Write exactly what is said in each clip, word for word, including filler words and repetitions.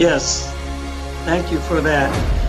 Yes, thank you for that.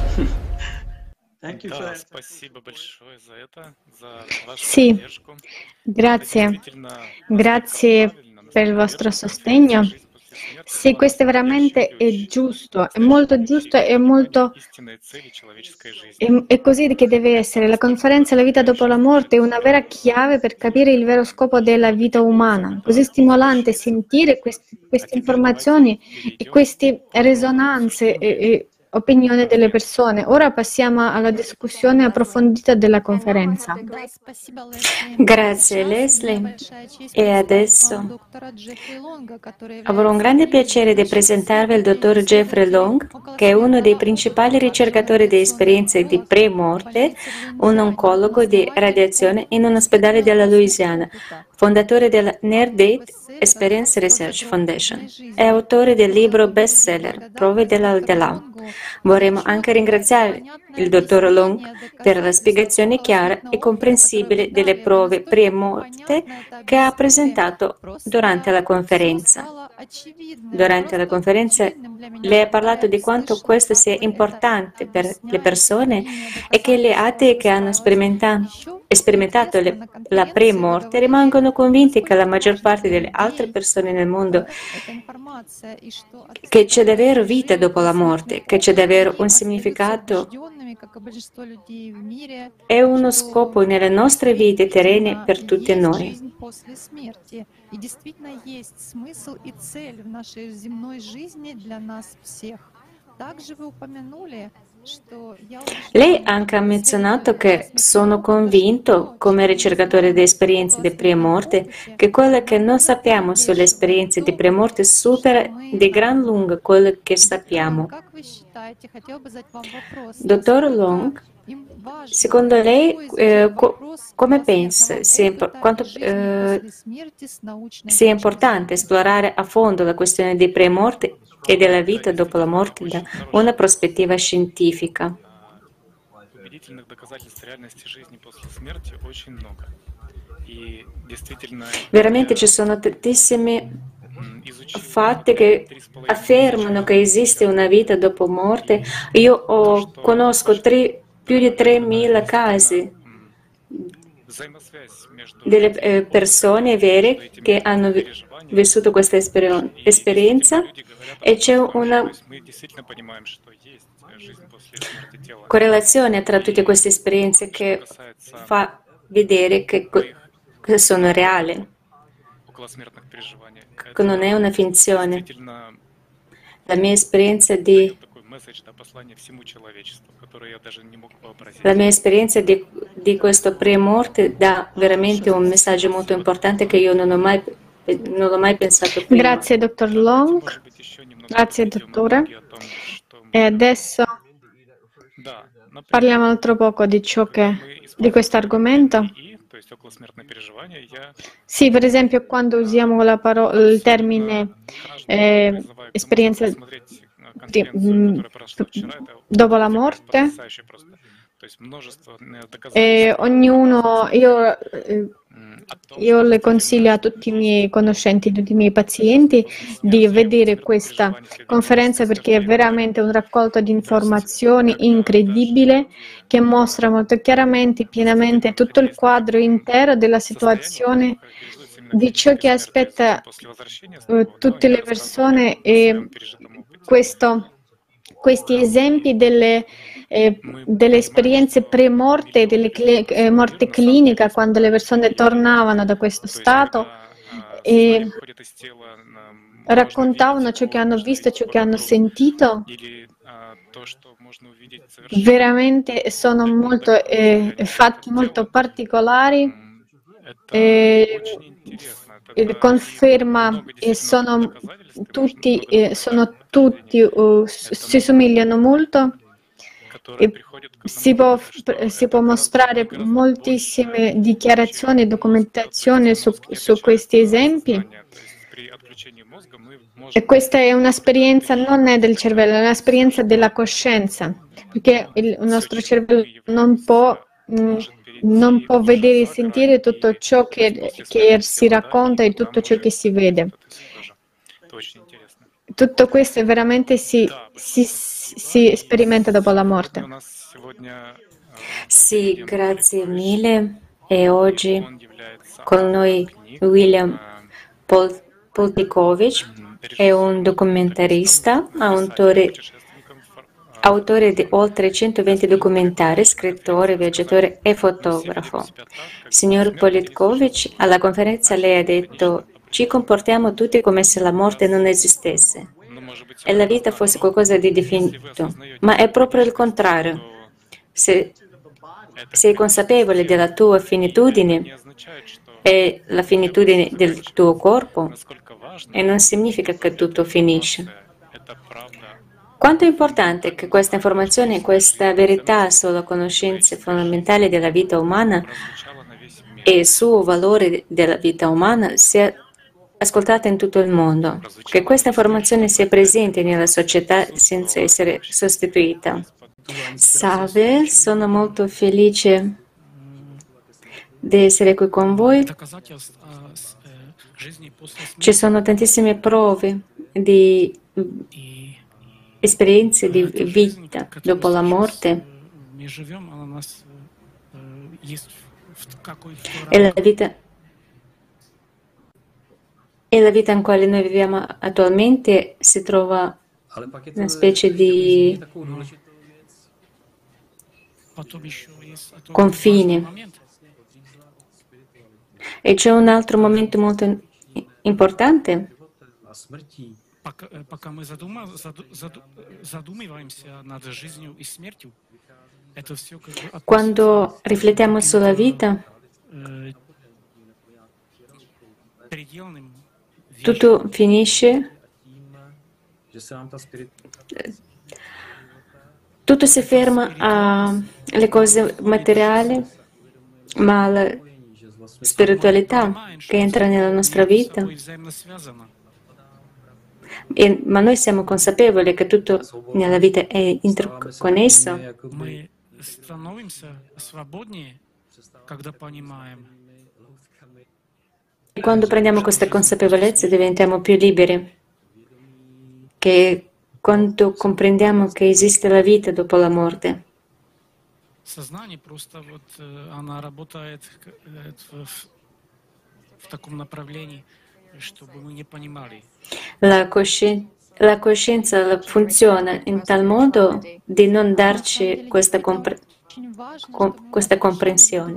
Thank you for Да, that. спасибо большое за это, за вашу Sì, поддержку. Это grazie. действительно настолько Grazie правильно, per il настолько vostro верно. Конференция sostegno. «Жизнь после смерти» Sì, дала questo è настоящий veramente è ключ, giusto, è molto подтверждающий giusto e понимание molto. истинной цели человеческой жизни. E- È così che deve essere. Это La настолько conferenza La vita dopo la вдохновляюще morte è слушать una vera chiave per capire il vero scopo della вот vita эти umana. отзывы, Così да, stimolante отзывающиеся. sentire questi- А queste теперь давайте informazioni e перейдем queste к подробному risonanze e, обсуждению e opinioni delle конференции. persone. Ora passiamo alla discussione approfondita della conferenza. Да, спасибо, Лесли. Grazie Сейчас мне Leslie. большая честь E представить вам adesso доктора Джеффри Лонга, который avrò un является grande одним из piacere di ведущих presentarvi il исследователей dottor Jeffrey исследователей Long, che è uno dei околосмертного principali опыта, а также ricercatori di радиационный esperienze di онколог в pre-morte, больнице в un Луизиане, oncologo di основатель radiazione in un ospedale исследовательского della опытного Louisiana, опыта, fondatore della автор Near-Date бестселлера Experience «сто Research загробной Foundation e жизни». autore del Хотела libro бы выразить bestseller Prove благодарность доктору dell'Aldilà. Лонгу за Vorremmo anche четкое и ringraziare понятное il dottor Long объяснение per la доказательств spiegazione chiara e околосмертного опыта, которое вы comprensibile delle дали. Вы prove настолько pre-morte понятно это che ha объяснили, presentato durante просто la все conferenza. стало очевидным, Durante la просто conferenza очевидным для меня, lei ha когда parlato я di quanto слышала, questo как sia вы это importante per le объясняете, persone какие e che le доказательства atee che hanno выстраивать. sperimenta- Еще sperimentato интересно, le- на la конференции вы pre-morte говорили, rimangono convinti che la насколько maggior важно parte для delle altre людей persone nel mondo эта информация и что che c'è отсутствие davvero vita пережили dopo la околосмертный morte, che c'è опыт, davvero они un остаются significato убежденными, как и большинство людей в мире, e uno что scopo nelle nostre vite terrene действительно per tutte есть noi. жизнь после смерти, и действительно есть смысл и цель в нашей земной жизни для нас всех. Также вы упомянули, что я Lei убежден, anche ha как исследователь menzionato che околосмертного sono опыта, convinto, что то, come чего мы не ricercatore di знаем об esperienze di околосмертном pre-morte, опыте, che quello che non намного sappiamo sulle перевешивает esperienze di то, pre-morte что supera мы di gran знаем. lunga quello che Доктор Лонг, sappiamo. как вы считаете, хотел бы задать вам вопрос, Dottor насколько Long, им важно secondo lei, легко eh, изучать co- вопрос come околосмертного pensa sia, impo- опыта и quanto, жизни eh, после смерти с научной sia точки importante зрения? esplorare a fondo la questione di pre-morte e della vita dopo la morte da una prospettiva scientifica? Убедительных доказательств реальности жизни после смерти очень много. И действительно, Veramente ci я sono tantissimi м, изучил fatti che три с половиной affermano тысячи che esiste una vita dopo morte. и Io то, ho- что conosco очень tre- più di доказательно, да, tremila действительно casi м, взаимосвязь между delle этими eh, persone опытами, между vere che этими hanno vi- переживаниями. vissuto questa esper- И действительно, esperienza люди говорят об e этом c'è громко. То una есть мы действительно понимаем, что есть э, жизнь после смерти тела. correlazione tra tutte И queste esperienze что che касается fa vedere che, co- моих che sono reali, околосмертных переживаний, che non è это una finzione. действительно La mia esperienza di дает такой месседж, да, послание всему человечеству, которое я даже не мог вообразить. La mia esperienza di, di questo pre-morte dà veramente un messaggio molto importante che io non ho mai, non ho mai pensato prima. Grazie, dottor Давайте, Long. может быть, еще немного Grazie, подведем dottore. итоги о том, что E мы... adesso Да, например, parliamo altro poco di ciò когда che, мы di используем questo термин argomento. эн пи и, то есть околосмертное переживание, я Sì, per esempio, quando usiamo la parola, il termine каждого eh, призываю к тому, чтобы esperienza посмотреть э, di- конференцию, м, которая прошла вчера. Это dopo la действительно morte. потрясающе просто. То есть множество э, E доказательств ognuno, io, eh, м, о том, io что le consiglio a tutti i miei conoscenti, a tutti i miei pazienti di vedere questa conferenza perché è veramente un raccolto di informazioni incredibile che mostra molto chiaramente, pienamente tutto il quadro intero della situazione di ciò che aspetta eh, tutte le persone e questo, questi esempi delle, eh, delle esperienze pre-morte, delle cli- eh, morte clinica, quando le persone tornavano da questo stato e raccontavano ciò che hanno visto, ciò che hanno sentito. Veramente sono molto eh, fatti molto particolari. Eh, eh, conferma e sono tutti, eh, sono tutti uh, si somigliano molto e si può, si può mostrare moltissime dichiarazioni e documentazione su, su questi esempi. E questa è un'esperienza non è del cervello, è un'esperienza della coscienza, perché il nostro cervello non può, mh, non può vedere e sentire tutto ciò che, che si racconta e tutto ciò che si vede. tutto questo veramente si, si, si sperimenta dopo la morte. Sì, grazie mille. E oggi con noi William Pol- Poltikovic è un documentarista, autore, autore di oltre centoventi documentari, scrittore, viaggiatore e fotografo. Signor Politkovich, alla conferenza lei ha detto: ci comportiamo tutti come se la morte non esistesse e la vita fosse qualcosa di definito, ma è proprio il contrario. Se sei consapevole della tua finitudine e la finitudine del tuo corpo, e non significa che tutto finisce. Quanto è importante che questa informazione, questa verità sulla conoscenza fondamentale della vita umana e il suo valore della vita umana sia ascoltata in tutto il mondo, che questa informazione sia presente nella società senza essere sostituita. Salve, sono molto felice di essere qui con voi. Ci sono tantissime prove di esperienze di vita dopo la morte. E la vita, e la vita in quale noi viviamo attualmente si trova una specie di confine. E c'è un altro momento molto importante. Quando riflettiamo sulla vita, tutto finisce, tutto si ferma alle cose materiali, ma la spiritualità che entra nella nostra vita. E, ma noi siamo consapevoli che tutto nella vita è interconnesso. E quando prendiamo questa consapevolezza diventiamo più liberi, che quando comprendiamo che esiste la vita dopo la morte. Сознание просто вот она работает в, в таком направлении, чтобы мы не понимали. La, cosci- la coscienza funziona in tal modo di non darci questa, compre- com- questa comprensione.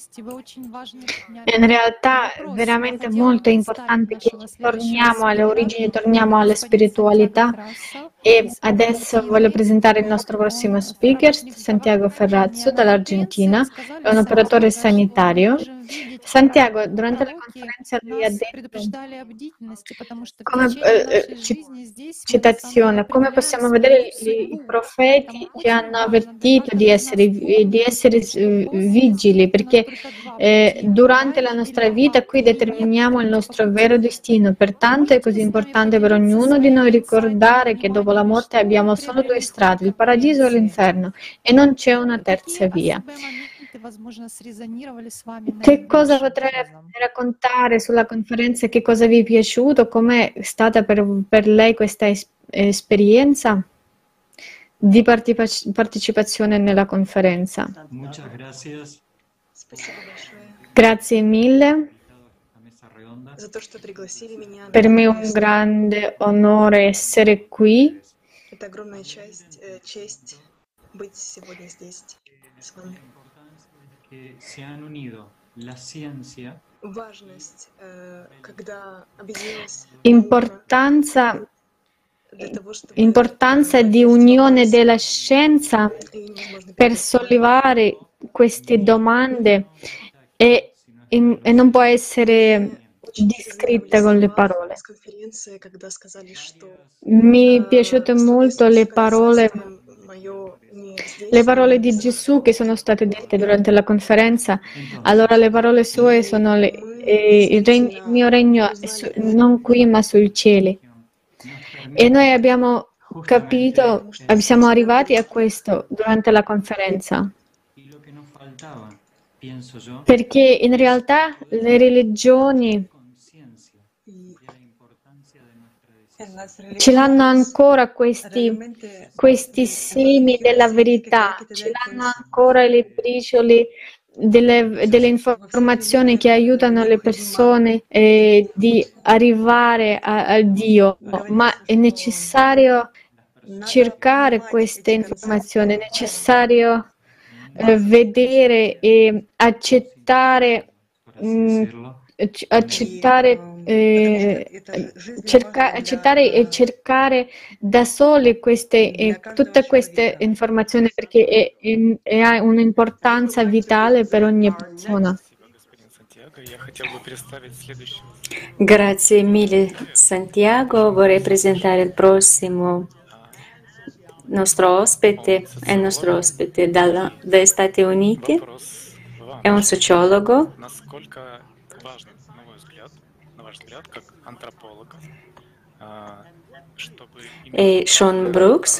In realtà è veramente molto importante che torniamo alle origini, torniamo alla spiritualità. E adesso voglio presentare il nostro prossimo speaker, Santiago Ferrazzo dall'Argentina, è un operatore sanitario. Santiago, durante la conferenza lui ha detto, come, eh, citazione, come possiamo vedere i, i profeti ci hanno avvertito di essere, di essere vigili, perché eh, durante la nostra vita qui determiniamo il nostro vero destino, pertanto è così importante per ognuno di noi ricordare che dopo la morte abbiamo solo due strade, il paradiso e l'inferno, e non c'è una terza via. Che cosa potrei raccontare sulla conferenza? Che cosa vi è piaciuto? Com'è stata per, per lei questa es- esperienza di partecipa- partecipazione nella conferenza? Grazie mille. Per me è un grande onore essere qui. Importanza, importanza di unione della scienza per sollevare queste domande e, e non può essere descritta con le parole. Mi piaciute molto le parole Le parole di Gesù che sono state dette durante la conferenza. Allora le parole sue sono le, eh, il, regno, il mio regno è su, non qui ma sui cieli. E noi abbiamo capito, siamo arrivati a questo durante la conferenza. Perché in realtà le religioni ce l'hanno ancora questi, questi semi della verità, ce l'hanno ancora le briciole delle, delle informazioni che aiutano le persone eh, di arrivare a, a Dio, ma è necessario cercare queste informazioni, è necessario eh, vedere e accettare, mh, accettare Eh, cerca, accettare e cercare da soli queste, eh, tutte queste informazioni perché è, è, è, ha un'importanza vitale per ogni persona. Grazie mille Santiago, vorrei presentare il prossimo nostro ospite, è il nostro ospite dalla, dagli Stati Uniti, è un sociologo. E Sean Brooks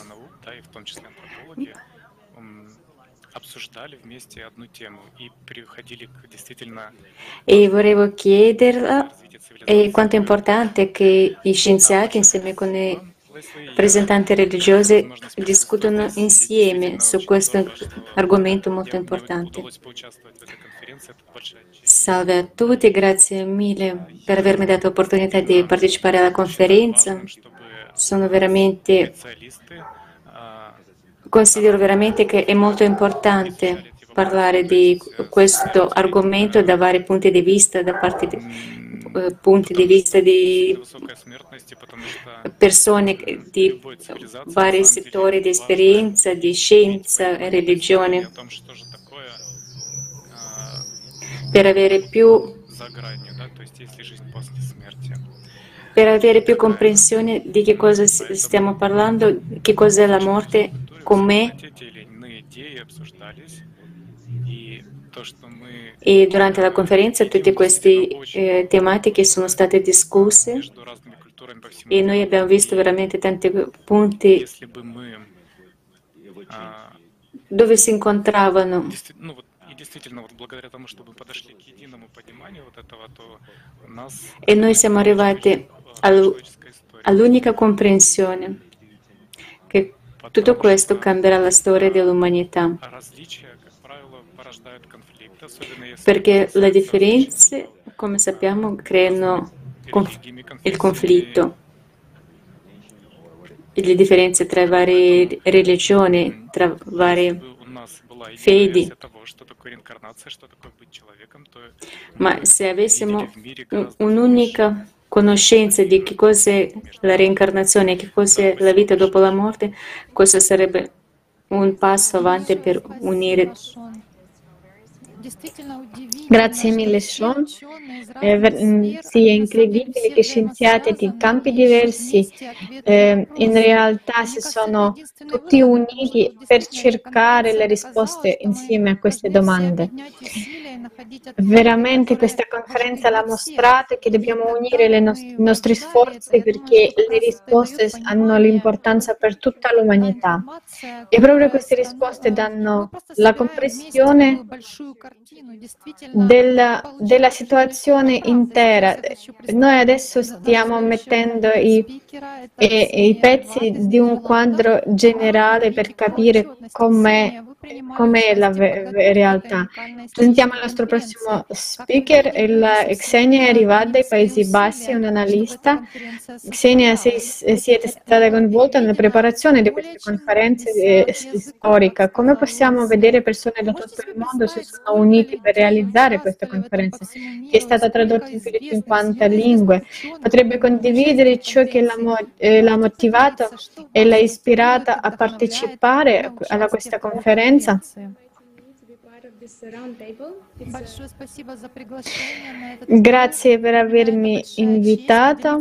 e volevo chiederla eh, quanto è importante che gli scienziati insieme con i rappresentanti religiosi discutono insieme su questo argomento molto importante. Salve a tutti, grazie mille per avermi dato l'opportunità di partecipare alla conferenza. Sono veramente, considero veramente che è molto importante parlare di questo argomento da vari punti di vista, da parte di, eh, punti di vista di persone di vari settori di esperienza, di scienza e religione, per avere più per avere più comprensione di che cosa stiamo parlando, che cos'è la morte, com'è. E durante la conferenza tutte queste eh, tematiche sono state discusse e noi abbiamo visto veramente tanti punti dove si incontravano. E noi siamo arrivati all'unica comprensione che tutto questo cambierà la storia dell'umanità, perché le differenze, come sappiamo, creano conf- il conflitto, le differenze tra varie religioni, tra varie fedi. Ma se avessimo un'unica conoscenza di che cos'è la reincarnazione, che cos'è la vita dopo la morte, questo sarebbe un passo avanti per unire. Grazie mille Sean. Eh, ver- sì, è incredibile che scienziati di campi diversi eh, in realtà si sono tutti uniti per cercare le risposte insieme a queste domande. Veramente questa conferenza l'ha mostrato che dobbiamo unire le nost- i nostri sforzi perché le risposte hanno l'importanza per tutta l'umanità. E proprio queste risposte danno la comprensione della, della situazione intera. Noi adesso stiamo mettendo i, i, i pezzi di un quadro generale per capire com'è, com'è la ve- realtà. Presentiamo il nostro prossimo speaker, il Xenia è arrivata dai Paesi Bassi, è un'analista. Xenia, sei, siete stata coinvolta nella preparazione di queste conferenze eh, storiche. Come possiamo vedere persone da tutto il mondo si sono unite per realizzare questa conferenza, che è stata tradotta in più di cinquanta lingue? Potrebbe condividere ciò che l'ha, mo- eh, l'ha motivato e l'ha ispirata a partecipare a questa conferenza? Grazie per avermi invitato.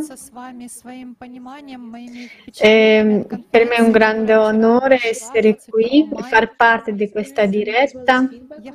Eh, per me è un grande onore essere qui e far parte di questa diretta.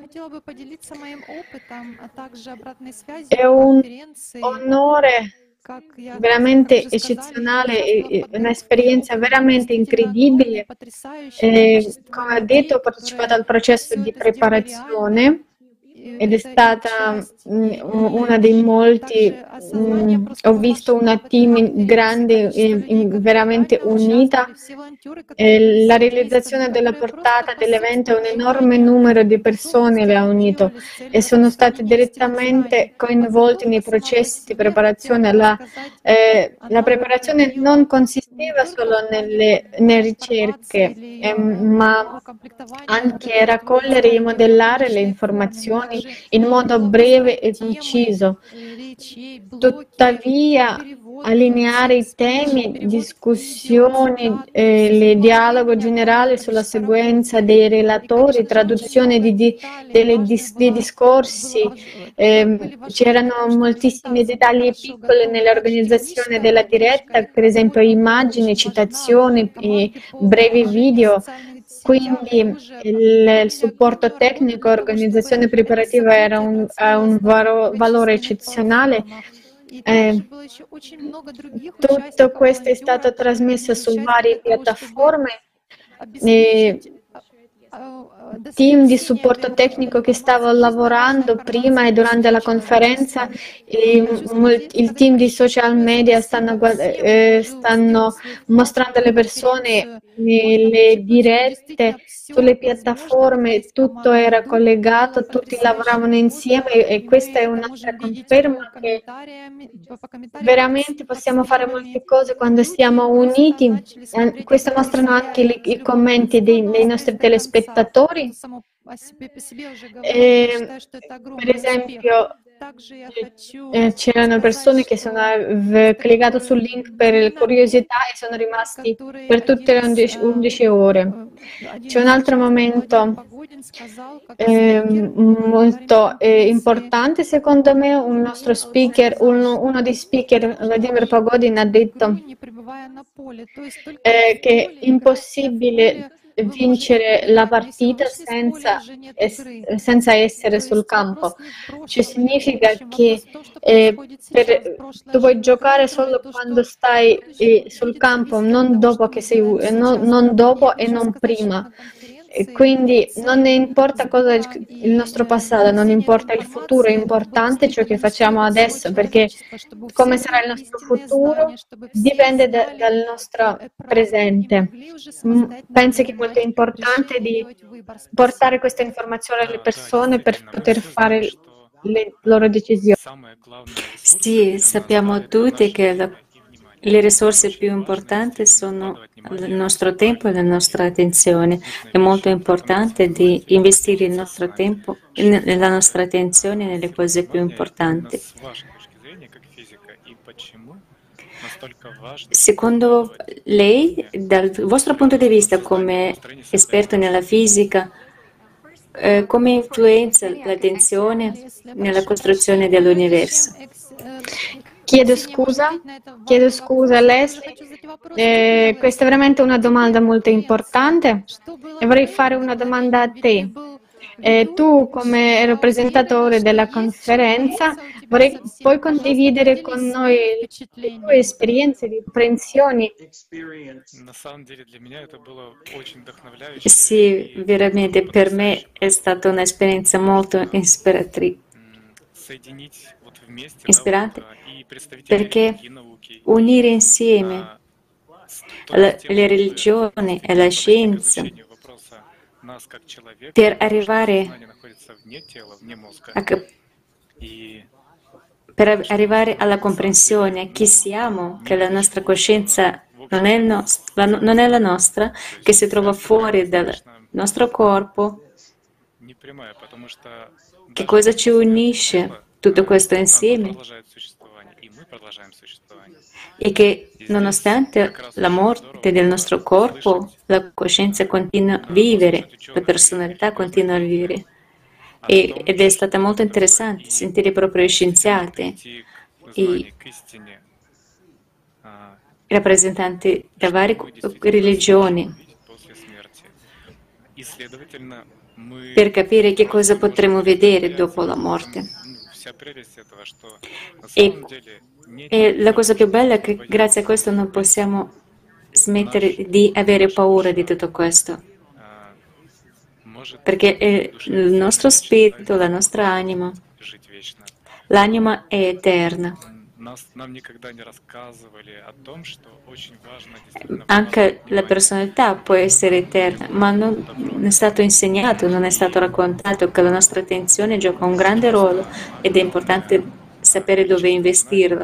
È un onore veramente eccezionale, un'esperienza veramente incredibile. Eh, come ho detto, ho partecipato al processo di preparazione ed è stata mh, una dei molti, mh, ho visto una team grande e e veramente unita. E la realizzazione della portata dell'evento un enorme numero di persone le ha unito e sono state direttamente coinvolte nei processi di preparazione. La, eh, la preparazione non consisteva solo nelle, nelle ricerche, eh, ma anche raccogliere e modellare le informazioni in modo breve e conciso. Tuttavia, allineare i temi, discussioni, eh, il dialogo generale sulla seguenza dei relatori, traduzione di, di, delle, dis, dei discorsi, eh, c'erano moltissimi dettagli piccoli nell'organizzazione della diretta, per esempio immagini, citazioni, brevi video. Quindi il, il supporto tecnico, organizzazione preparativa era un, ha un varo, valore eccezionale. Eh, tutto questo è stato trasmesso su varie piattaforme. E, team di supporto tecnico che stava lavorando prima e durante la conferenza, il, il team di social media stanno, eh, stanno mostrando alle persone le dirette sulle piattaforme, tutto era collegato, tutti lavoravano insieme e questa è un'altra conferma che veramente possiamo fare molte cose quando siamo uniti. Questo mostrano anche i, i commenti dei, dei nostri telespettatori. E, per esempio, eh, c'erano persone che sono eh, cliccato sul link per curiosità e sono rimasti per tutte le undici ore. C'è un altro momento eh, molto eh, importante secondo me, un nostro speaker, uno, uno dei speaker, Vladimir Pagodin, ha detto eh, che è impossibile vincere la partita senza, es, senza essere sul campo. Cioè significa che eh, per, tu puoi giocare solo quando stai eh, sul campo, non dopo, che sei, non, non dopo e non prima. E quindi non importa cosa il nostro passato, non importa il futuro, è importante ciò che facciamo adesso, perché come sarà il nostro futuro dipende da, dal nostro presente. Penso che è molto importante di portare questa informazione alle persone per poter fare le loro decisioni. Sì, sappiamo tutti che la le risorse più importanti sono il nostro tempo e la nostra attenzione. È molto importante di investire il nostro tempo e la nostra attenzione nelle cose più importanti. Secondo lei, dal vostro punto di vista come esperto nella fisica, eh, come influenza l'attenzione nella costruzione dell'universo? Chiedo scusa, chiedo scusa Leslie, eh, questa è veramente una domanda molto importante e vorrei fare una domanda a te. Eh, tu come rappresentatore della conferenza vorrei, puoi condividere con noi le tue esperienze di apprensioni? Sì, veramente per me è stata un'esperienza molto ispiratrice. Ispirante perché unire insieme la, le religioni e la scienza per arrivare a, per arrivare alla comprensione chi siamo, che la nostra coscienza non è, nostra, non è la nostra, che si trova fuori dal nostro corpo, che cosa ci unisce tutto questo insieme e che nonostante la morte del nostro corpo, la coscienza continua a vivere, la personalità continua a vivere. E, ed è stata molto interessante sentire proprio gli scienziati, i rappresentanti da varie religioni, per capire che cosa potremo vedere dopo la morte. E, e la cosa più bella è che grazie a questo non possiamo smettere di avere paura di tutto questo. perché è il nostro spirito, la nostra anima, l'anima è eterna. Anche la personalità può essere eterna, ma non è stato insegnato, non è stato raccontato che la nostra attenzione gioca un grande ruolo ed è importante sapere dove investirla.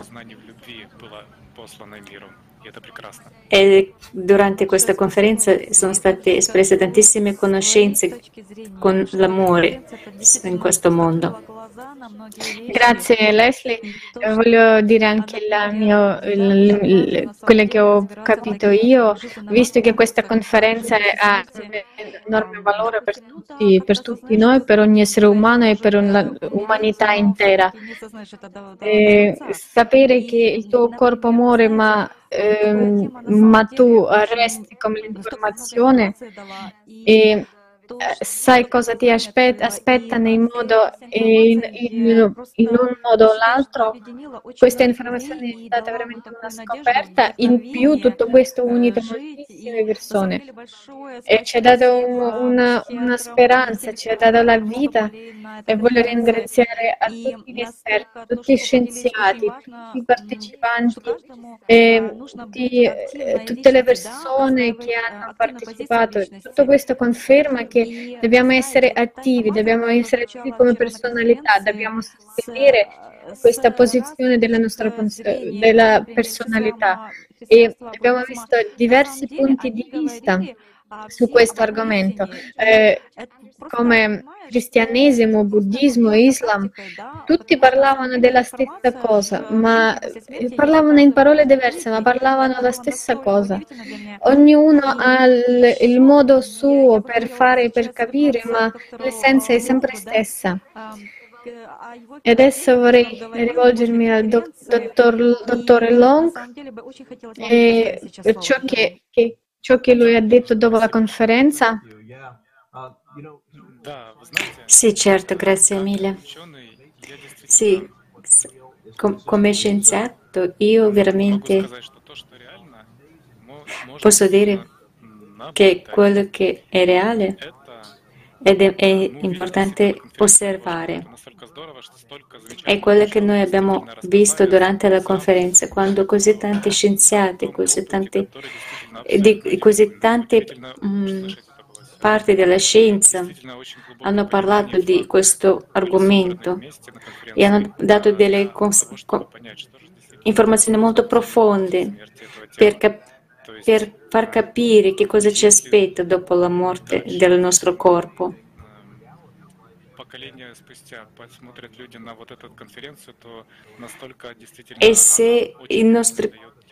E durante questa conferenza sono state espresse tantissime conoscenze con l'amore in questo mondo. Grazie Leslie, eh, voglio dire anche il mio, il, il, quello che ho capito io, visto che questa conferenza ha un enorme valore per tutti, per tutti noi, per ogni essere umano e per l'umanità intera. E sapere che il tuo corpo muore ma, ehm, ma tu resti come l'informazione e sai cosa ti aspetta, aspetta in, modo, in, in, in un modo o l'altro. Questa informazione è stata veramente una scoperta. In più tutto questo ha unito moltissime persone e ci ha dato un, una, una speranza, ci ha dato la vita e voglio ringraziare a tutti gli esperti, tutti gli scienziati, tutti i partecipanti e tutti, eh, tutte le persone che hanno partecipato. Tutto questo conferma che che dobbiamo essere attivi, dobbiamo essere attivi come personalità, dobbiamo sostenere questa posizione della nostra della personalità e abbiamo visto diversi punti di vista su questo argomento, eh, come cristianesimo, buddismo, islam, tutti parlavano della stessa cosa, ma parlavano in parole diverse, ma parlavano la stessa cosa. Ognuno ha il, il modo suo per fare, per capire, ma l'essenza è sempre stessa. E adesso vorrei rivolgermi al do, dottor, dottore Long e ciò che, che ciò che lui ha detto dopo la conferenza. Sì, certo, grazie mille. Sì, com- come scienziato io veramente posso dire che quello che è reale ed è, è importante osservare. È quello che noi abbiamo visto durante la conferenza, quando così tanti scienziati, così tante, di così tante mh, parti della scienza hanno parlato di questo argomento e hanno dato delle cons- co- informazioni molto profonde per, cap- per far capire che cosa ci aspetta dopo la morte del nostro corpo. E se, i nostri,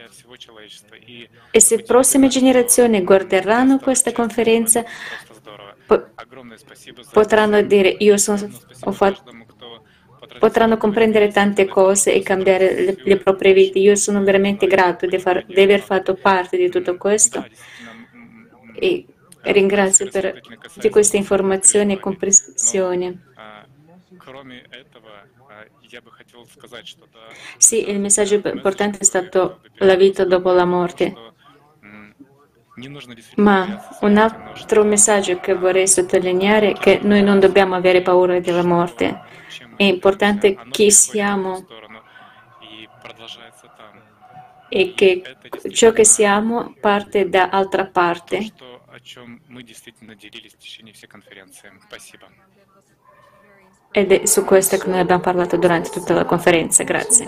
e se prossime generazioni guarderanno questa conferenza, po- potranno dire io sono, ho fatto, potranno comprendere tante cose e cambiare le, le proprie vite. Io sono veramente grato di, far, di aver fatto parte di tutto questo e ringrazio per di queste informazioni e comprensione. Sì, il messaggio importante è stato la vita dopo la morte. Ma un altro messaggio che vorrei sottolineare è che noi non dobbiamo avere paura della morte. È importante chi siamo e che ciò che siamo parte da altra parte. Ed è su questo che noi abbiamo parlato durante tutta la conferenza. Grazie.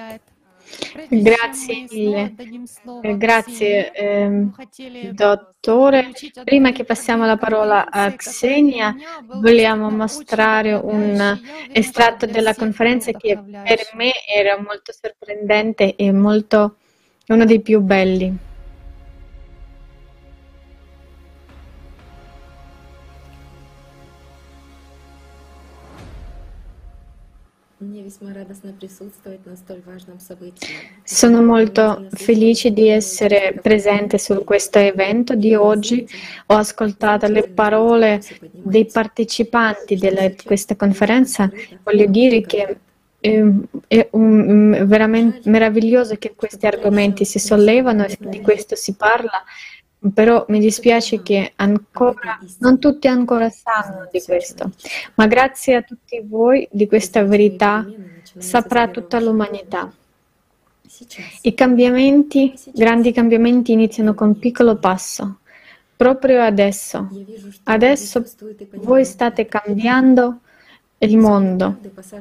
Grazie mille. Grazie, eh, dottore. Prima che passiamo la parola a Xenia, vogliamo mostrare un estratto della conferenza che per me era molto sorprendente e molto uno dei più belli. Sono molto felice di essere presente su questo evento di oggi. Ho ascoltato le parole dei partecipanti di questa conferenza. Voglio dire che è un, veramente meraviglioso che questi argomenti si sollevano e di questo si parla. però mi dispiace che ancora non tutti ancora sanno di questo, ma grazie a tutti voi di questa verità saprà tutta l'umanità. I cambiamenti, grandi cambiamenti iniziano con un piccolo passo, proprio adesso. Adesso voi state cambiando il mondo.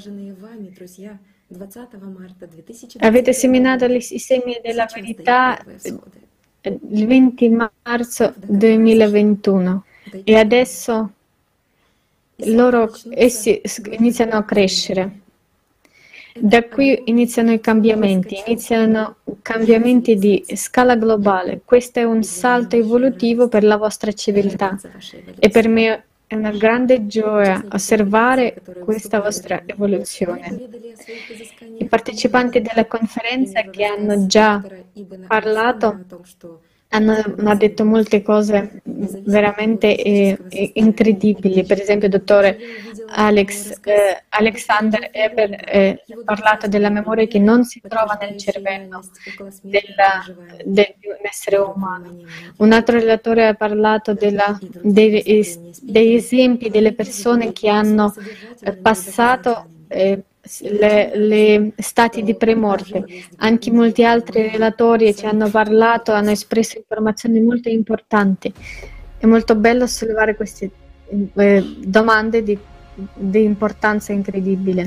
Avete seminato i semi della verità il venti marzo duemilaventuno e adesso loro, essi iniziano a crescere. Da qui iniziano i cambiamenti, iniziano cambiamenti di scala globale. Questo è un salto evolutivo per la vostra civiltà e per me è una grande gioia osservare questa vostra evoluzione. I partecipanti della conferenza che hanno già parlato hanno, hanno detto molte cose veramente eh, incredibili. Per esempio, il dottore Alex, eh, Alexander Eber eh, ha parlato della memoria che non si trova nel cervello della, del, di un essere umano. Un altro relatore ha parlato della, dei, degli esempi delle persone che hanno eh, passato eh, le, le stati di premorte. Anche molti altri relatori ci hanno parlato, hanno espresso informazioni molto importanti. È molto bello sollevare queste eh, domande di, di importanza incredibile.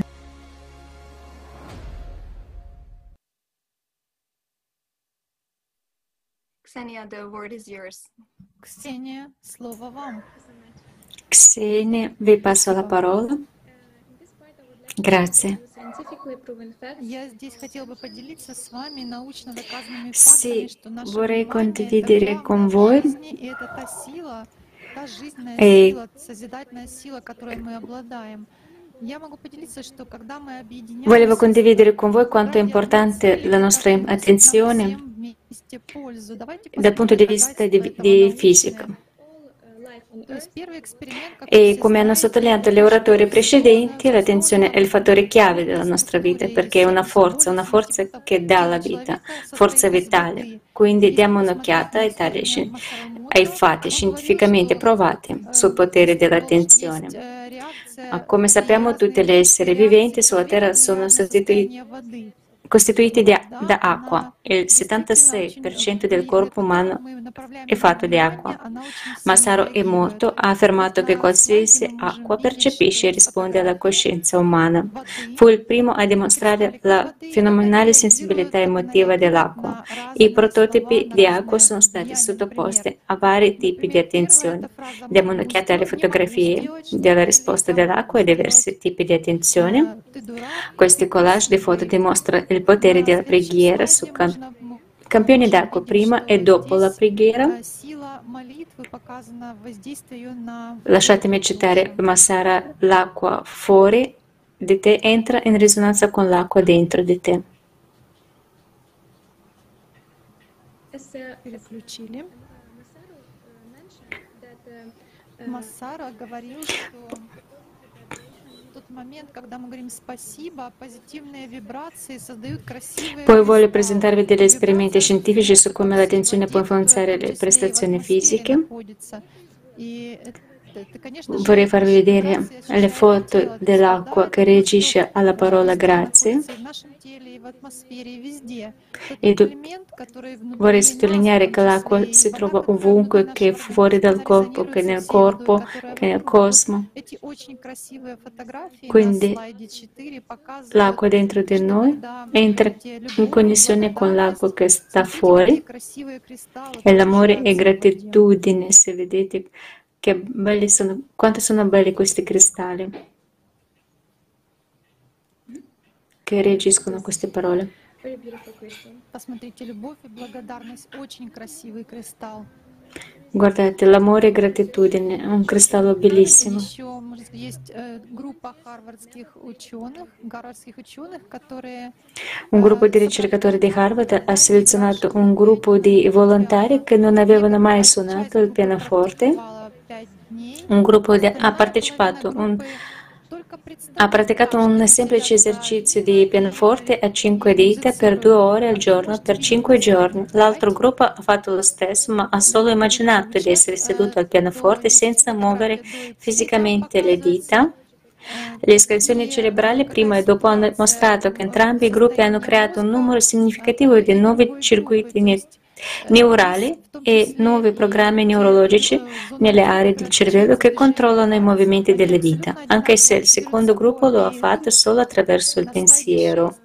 Ksenia, the word is yours. Ksenia, слово вам. Ksenia, vi passo la parola. Grazie. Sì, vorrei condividere con voi e volevo condividere con voi quanto è importante la nostra attenzione dal punto di vista di, di fisica. E come hanno sottolineato gli oratori precedenti, l'attenzione è il fattore chiave della nostra vita, perché è una forza, una forza che dà la vita, forza vitale. Quindi diamo un'occhiata ai, tali, ai fatti scientificamente provati sul potere dell'attenzione. Come sappiamo, tutti gli esseri viventi sulla Terra sono sostituiti costituiti di, da acqua. Il settantasei per cento del corpo umano è fatto di acqua. Masaru Emoto ha affermato che qualsiasi acqua percepisce e risponde alla coscienza umana. Fu il primo a dimostrare la fenomenale sensibilità emotiva dell'acqua. I prototipi di acqua sono stati sottoposti a vari tipi di attenzione. Diamo un'occhiata alle fotografie della risposta dell'acqua ai diversi tipi di attenzione. Questi collage di foto dimostrano il potere della preghiera su cam- campioni d'acqua prima e dopo la preghiera. Lasciatemi citare Masara: l'acqua fuori di te entra in risonanza con l'acqua dentro di te. Массара говорил, что тот момент, когда мы говорим спасибо, позитивные вибрации создают красивые. Poi voglio presentarvi degli esperimenti scientifici su come l'attenzione può influenzare le prestazioni fisiche. Vorrei farvi vedere le foto dell'acqua che reagisce alla parola grazie. E vorrei sottolineare che l'acqua si trova ovunque, che fuori dal corpo, che nel corpo, che nel cosmo. Quindi l'acqua dentro di noi entra in connessione con l'acqua che sta fuori. E l'amore e gratitudine, se vedete che belli sono, quanto sono belli questi cristalli che reagiscono a queste parole. Guardate, l'amore e gratitudine è un cristallo bellissimo. Un gruppo di ricercatori di Harvard ha selezionato un gruppo di volontari che non avevano mai suonato il pianoforte. Un gruppo di, ha partecipato un, ha praticato un semplice esercizio di pianoforte a cinque dita per due ore al giorno per cinque giorni. L'altro gruppo ha fatto lo stesso, ma ha solo immaginato di essere seduto al pianoforte senza muovere fisicamente le dita. Le escursioni cerebrali prima e dopo hanno mostrato che entrambi i gruppi hanno creato un numero significativo di nuovi circuiti ne- neurali e nuovi programmi neurologici nelle aree del cervello che controllano i movimenti delle dita, anche se il secondo gruppo lo ha fatto solo attraverso il pensiero.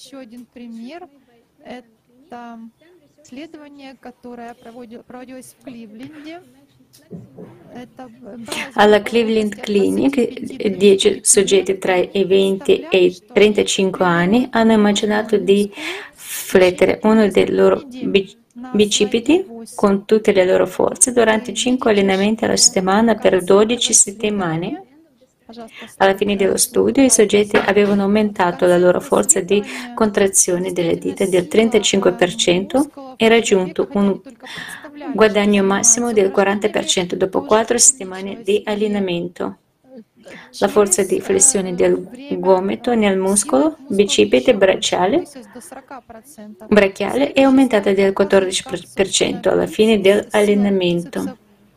Alla Cleveland Clinic, dieci soggetti tra i venti e i trentacinque anni hanno immaginato di flettere uno dei loro bicipiti con tutte le loro forze durante cinque allenamenti alla settimana per dodici settimane. Alla fine dello studio, i soggetti avevano aumentato la loro forza di contrazione delle dita del trentacinque per cento e raggiunto un guadagno massimo del quaranta per cento dopo quattro settimane di allenamento. La forza di flessione del gomito nel muscolo bicipite bracciale, brachiale è aumentata del quattordici per cento alla fine dell'allenamento.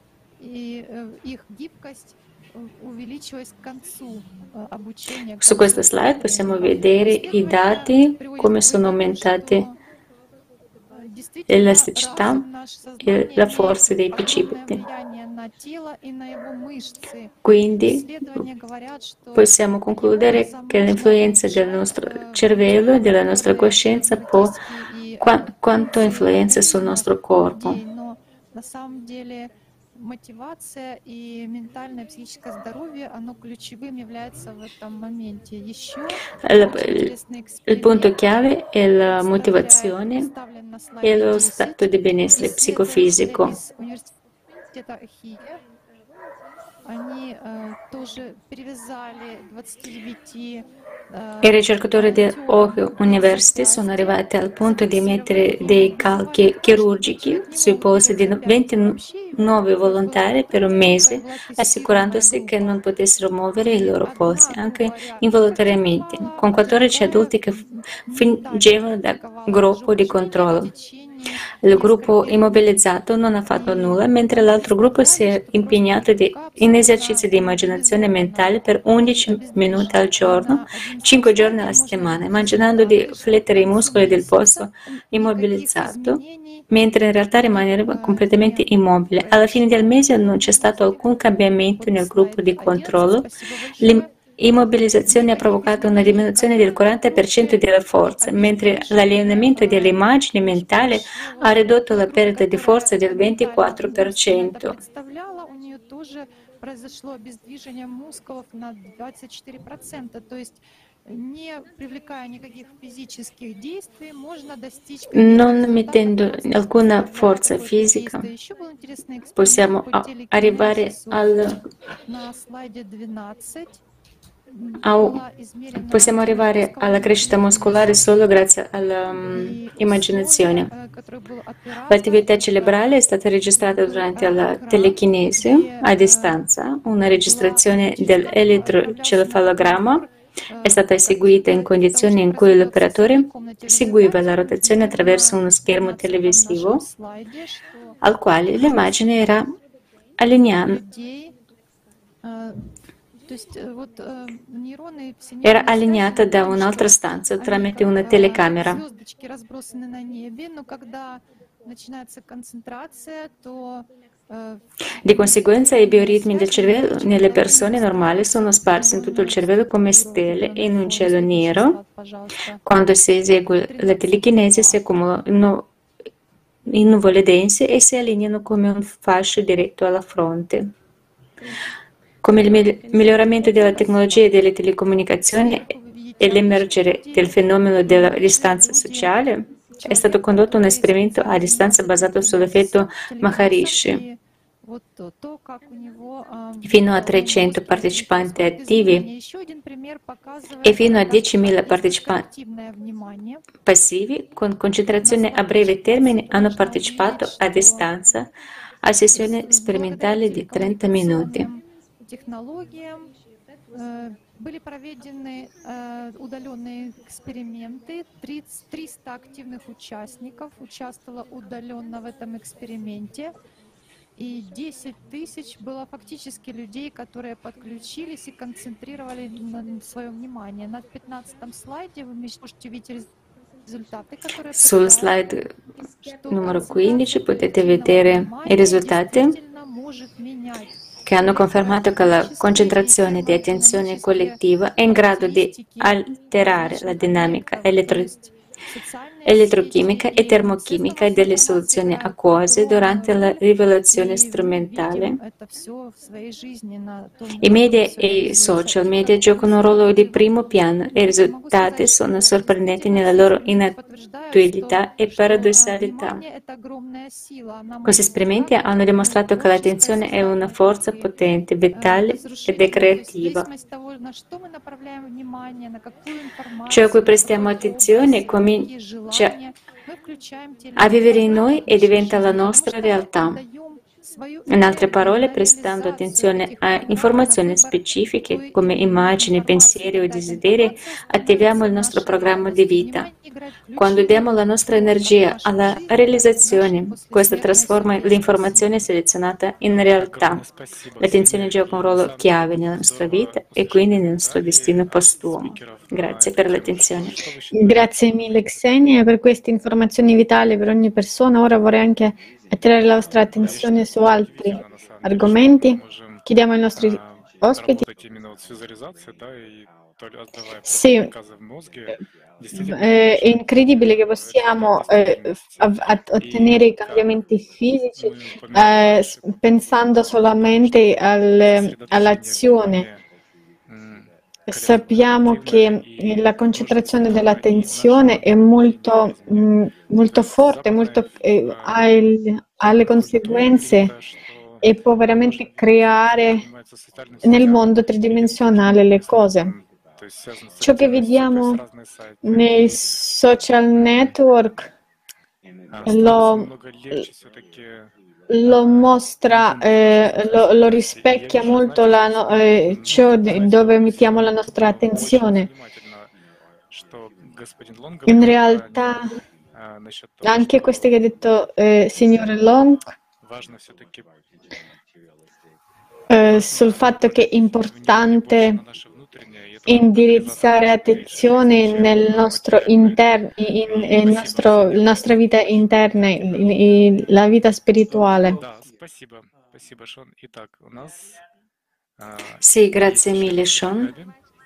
Su questa slide possiamo vedere i dati, come sono aumentate l'elasticità e la forza dei bicipiti. Quindi possiamo concludere che l'influenza del nostro cervello e della nostra coscienza può qua, quanto influenza sul nostro corpo. Мотивация и ментальное и психическое здоровье, оно ключевым является в этом моменте. Еще il, il punto chiave è la motivazione e lo stato di benessere psicofisico. Они тоже перевязали двадцатидевяти I ricercatori dell'Ohio University sono arrivati al punto di mettere dei calchi chirurgici sui polsi di ventinove volontari per un mese, assicurandosi che non potessero muovere i loro polsi, anche involontariamente, con quattordici adulti che fingevano da gruppo di controllo. Il gruppo immobilizzato non ha fatto nulla, mentre l'altro gruppo si è impegnato di, in esercizi di immaginazione mentale per undici minuti al giorno, cinque giorni alla settimana, immaginando di flettere i muscoli del polso immobilizzato, mentre in realtà rimaneva completamente immobile. Alla fine del mese non c'è stato alcun cambiamento nel gruppo di controllo. L'immobilizzazione ha provocato una diminuzione del quaranta per cento della forza, mentre l'allenamento delle immagini mentali ha ridotto la perdita di forza del ventiquattro per cento. Non mettendo alcuna forza fisica, possiamo arrivare al Possiamo arrivare alla crescita muscolare solo grazie all'immaginazione. L'attività cerebrale è stata registrata durante la telecinesi a distanza. Una registrazione dell'elettrocefalogramma è stata eseguita in condizioni in cui l'operatore seguiva la rotazione attraverso uno schermo televisivo al quale l'immagine era allineata. Era allineata da un'altra stanza tramite una telecamera. Di conseguenza, i bioritmi del cervello nelle persone normali sono sparsi in tutto il cervello come stelle in un cielo nero. Quando si esegue la telecinesi si accumulano in nuvole dense e si allineano come un fascio diretto alla fronte. Come il miglioramento della tecnologia e delle telecomunicazioni e l'emergere del fenomeno della distanza sociale, è stato condotto un esperimento a distanza basato sull'effetto Maharishi. Fino a trecento partecipanti attivi e fino a diecimila partecipanti passivi con concentrazione a breve termine hanno partecipato a distanza a sessioni sperimentali di trenta minuti. Были проведены э, удаленные эксперименты. триста активных участников участвовало удаленно в этом эксперименте. И десять тысяч было фактически людей, которые подключились и концентрировали на свое внимание. На пятнадцатом слайде вы можете видеть risultati, которые Sul slide numero quindici potete vedere i risultati che hanno confermato che la concentrazione di attenzione collettiva è in grado di alterare la dinamica elettro- elettrochimica e termochimica delle soluzioni acquose durante la rivelazione strumentale. I media e i social media giocano un ruolo di primo piano e i risultati sono sorprendenti nella loro inattualità e paradossalità. Questi esperimenti hanno dimostrato che l'attenzione è una forza potente, vitale ed è creativa. Ciò a cui prestiamo attenzione comincia a vivere in noi e diventa la nostra realtà. In altre parole, prestando attenzione a informazioni specifiche come immagini, pensieri o desideri, attiviamo il nostro programma di vita. Quando diamo la nostra energia alla realizzazione, questa trasforma l'informazione selezionata in realtà. L'attenzione gioca un ruolo chiave nella nostra vita e quindi nel nostro destino postumo. Grazie per l'attenzione. Grazie mille Xenia per queste informazioni vitali per ogni persona. Ora vorrei anche attirare la vostra attenzione su altri argomenti. Chiediamo ai nostri ospiti. Sì, è incredibile che possiamo eh, ottenere i cambiamenti fisici eh, pensando solamente al, all'azione. Sappiamo che la concentrazione dell'attenzione è molto, mh, molto forte, molto, eh, ha, il, ha le conseguenze e può veramente creare nel mondo tridimensionale le cose. Ciò che vediamo nei social network lo, lo mostra, eh, lo, lo rispecchia molto la, eh, ciò dove mettiamo la nostra attenzione. In realtà, anche questo che ha detto eh, signore Long, eh, sul fatto che è importante indirizzare attenzione nel nostro interno, in, in nostro, la nostra vita interna, in, in, la vita spirituale. Sì, grazie mille, Sean.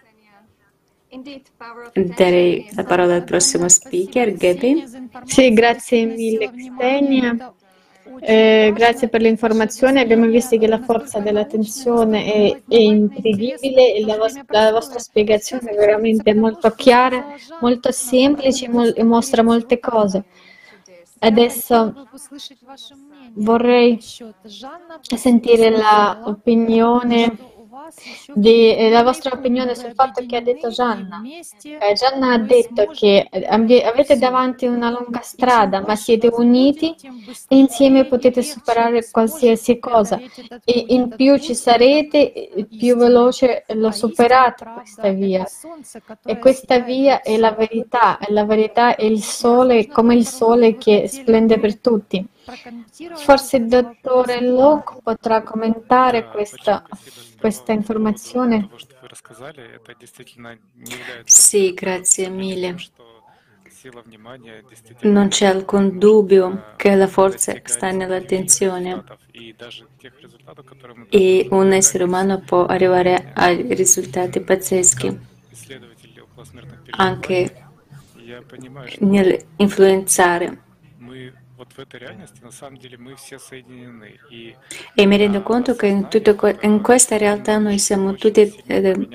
Darei la parola al prossimo speaker, Gaby. Sì, grazie mille, Xenia. Eh, grazie per le informazioni. Abbiamo visto che la forza dell'attenzione è, è incredibile e la, vos- la vostra spiegazione è veramente molto chiara, molto semplice mol- e mostra molte cose. Adesso vorrei sentire l'opinione di, eh, la vostra opinione sul fatto che ha detto Gianna. Eh, Gianna ha detto che avete davanti una lunga strada, ma siete uniti e insieme potete superare qualsiasi cosa. E in più ci sarete, più veloce lo superate questa via. E questa via è la verità, e la verità è il sole, come il sole che splende per tutti. Forse il dottore Locke potrà commentare questa, questa informazione. Sì, grazie mille. Non c'è alcun dubbio che la forza sta nell'attenzione e un essere umano può arrivare a risultati pazzeschi anche nell'influenzare. E mi rendo conto che in, tutto, in questa realtà noi siamo tutti eh,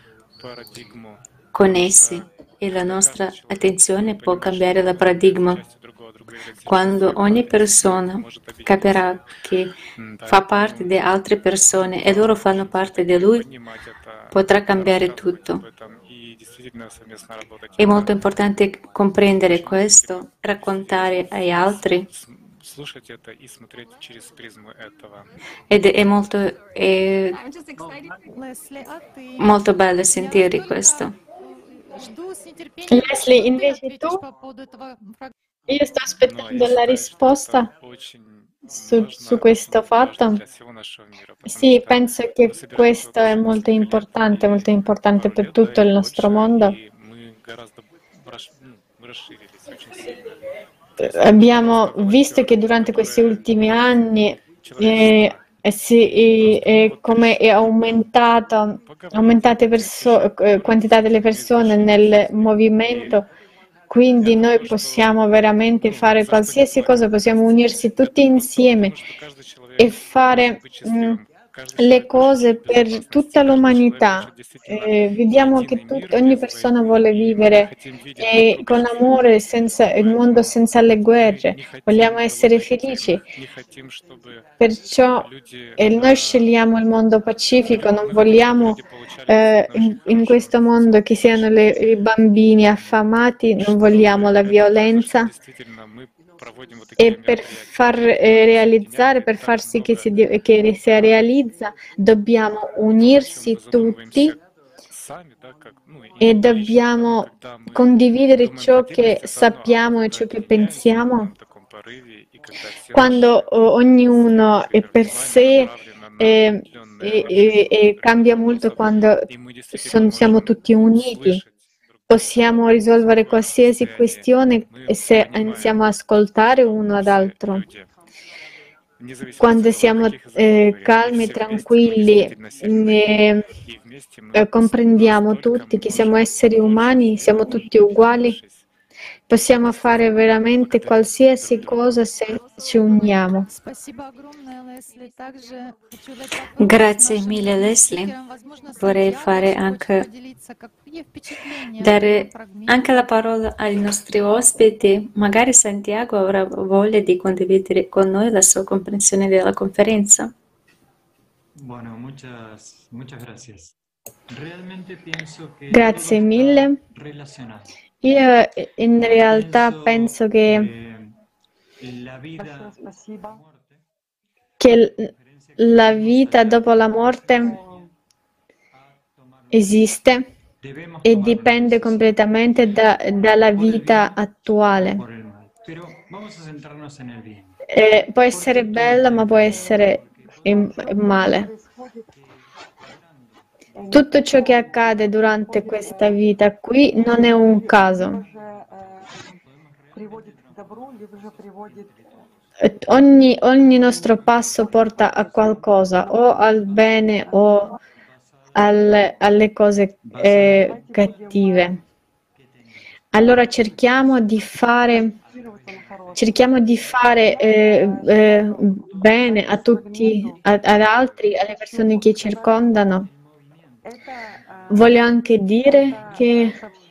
connessi e la nostra attenzione può cambiare il paradigma. Quando ogni persona capirà che fa parte di altre persone e loro fanno parte di lui, potrà cambiare tutto. È molto importante comprendere questo, raccontare agli altri слушать это и смотреть через призму этого. Ed è molto, è I'm just excited. Leslie, а ты? molto bello Я sentire только questo. э, жду с нетерпением, Leslie, что ты invece ответишь tu? по поводу этого фрагмента. Io sto Ну, а aspettando я la считаю, что risposta это очень su, su важно, questo ну, важно fatto. для всего нашего мира, потому Sì, что penso мы che собираемся questo вот è уже molto несколько лет, importante, molto и importante пару per лет, да, tutto il или nostro больше, mondo. и мы гораздо расш- ну, мы расширились очень сильно. Eh, То есть мы Abbiamo просто visto che волонтеры, durante questi которые ultimi ну, anni eh, человечество. eh, sì, eh, Просто мы eh, вот come è решили aumentato, поговорить, aumentate perso- обсудить, eh, quantità delle какие-то persone неизбежные nel жизни. И movimento, я quindi noi думаю, что possiamo veramente ну, fare ни за что не qualsiasi cosa, платим possiamo вместе. unirsi tutti Поэтому просто insieme думаю, что каждый человек e может fare быть mm, счастливым. Каждый le человек хочет cose жить в per безопасности. tutta Каждый человек l'umanità. хочет действительно Eh, vediamo che единый tut- мир ogni без persona войны. vuole И мы не vivere хотим видеть друг eh, друга con счастливыми. amore, senza il mondo Поэтому senza le мы guerre. не Vogliamo хотим essere кого-то felici. единым, не хотим, чтобы Perciò люди, eh, noi э, scegliamo il mondo pacifico, non мы хотим, чтобы vogliamo люди получали eh, действительно in, очень in хорошую questo mondo che siano le- i bambini affamati, non vogliamo чтобы la это произошло violenza. действительно, мы проводим вот E такие per мероприятия, far которые eh, нас realizzare, объединяют, и per так far sì che много si, di- che si э, realizza, dobbiamo того, о чем unirsi мы задумываемся tutti сами, да, как, ну, и e лично, да, но dobbiamo когда мы condividere думаем ciò по che отдельности, это одно, а вот sappiamo e когда ciò che объединяемся в pensiamo. одном таком порыве, и когда все Quando наши, oh, ognuno все, è например, per внимание sé направлено на eh, определенные e, очень e- e cambia определенных molto вопросов, quando и мы действительно son- siamo можем tutti uniti. услышать друг друга Possiamo в risolvere спокойном qualsiasi состоянии, questione мы se понимаем, iniziamo a ascoltare что uno мы ad все altro. люди, вне зависимости Quando от того, на siamo каких языках мы eh, говорим, и calmi, все вместе мы tranquilli, действительно сильны, eh, и вместе мы eh, comprendiamo настолько tutti che siamo можем esseri больше umani, siamo сделать, tutti uguali, объединившись. possiamo fare veramente Благодаря друг qualsiasi другу. cosa se ci uniamo. Спасибо огромное, Лесли. Также хочу дать возможность Grazie нашим mille другим Leslie. спикерам, возможно, Vorrei Сантьяго fare еще хочет anche поделиться, какие впечатления от этого dare anche la фрагмента. parola ai nostri ospiti. Magari Santiago avrà voglia di condividere con noi la sua comprensione della conferenza. Bueno, muchas, muchas gracias. Realmente pienso que Grazie todo mille. está relacionado. Io eh, in realtà Pienso penso che, que la vida, che l- la vita dopo la morte esiste debemos e tomar una dipende decisión completamente da- dalla vita attuale. por el mal. Pero vamos a centrarnos en el bien. Eh, può essere bella, ma può essere in- male. Tutto ciò che accade durante questa vita qui non è un caso. Eh, Ogni, ogni nostro passo porta a qualcosa, o al bene o al- alle cose eh, cattive. Allora cerchiamo di fare, cerchiamo di fare eh, eh, bene a tutti, a- ad altri, alle persone che circondano. Voglio anche dire che,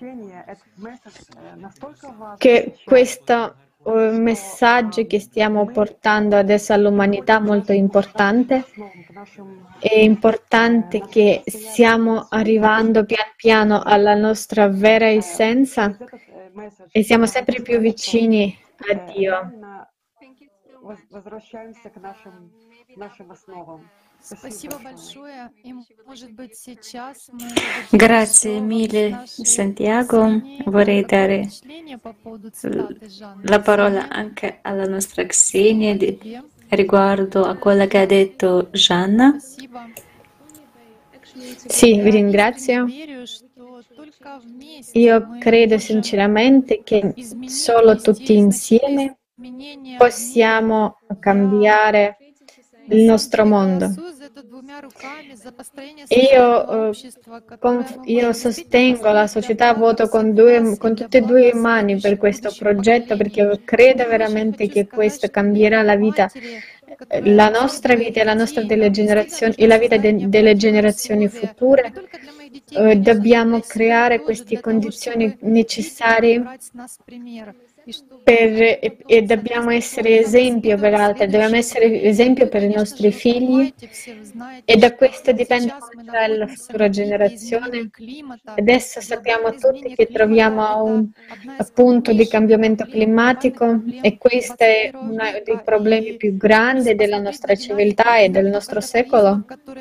che questo eh, messaggio che stiamo portando adesso all'umanità è molto importante. È importante che stiamo arrivando pian piano alla nostra vera essenza e siamo sempre più vicini a Dio. Thank you so much. Возвращаемся к нашим, нашим основам. Спасибо большое. И, может быть, сейчас мы Grazie mille Santiago. Vorrei dare впечатление по поводу цитаты Жанны. la parola anche alla nostra Xenia di- riguardo a quello che ha detto Gianna. Спасибо. Sì, vi Я ringrazio. искренне верю, что только вместе Io мы credo можем sinceramente che изменить, solo внести tutti insieme изменения в мир. possiamo cambiare il nostro mondo. Голосую за это двумя руками, за построение Io, современного eh, общества, которое conf- мы io можем sostengo действительно la построить società, для блага voto con, всех due, нас con и для tutte e due блага mani per следующих, questo будущих progetto, perché поколений. credo Очень veramente хочу che сказать, questo что cambierà la те vita, матери, eh, которые la хотят nostra своих vita e la nostra детей, delle нам действительно generazioni e нужно la vita создать de- delle необходимые generazioni условия, не future. только для моих детей, Eh, конечно же, Dobbiamo для себя creare тоже, queste для того, condizioni чтобы видели и necessarie брать с нас пример. per, e, e dobbiamo essere esempio per altri, dobbiamo essere esempio per i nostri figli e da questo dipende come sarà la futura generazione. Adesso sappiamo tutti che troviamo a un punto di cambiamento climatico e questo è uno dei problemi più grandi della nostra civiltà e del nostro secolo.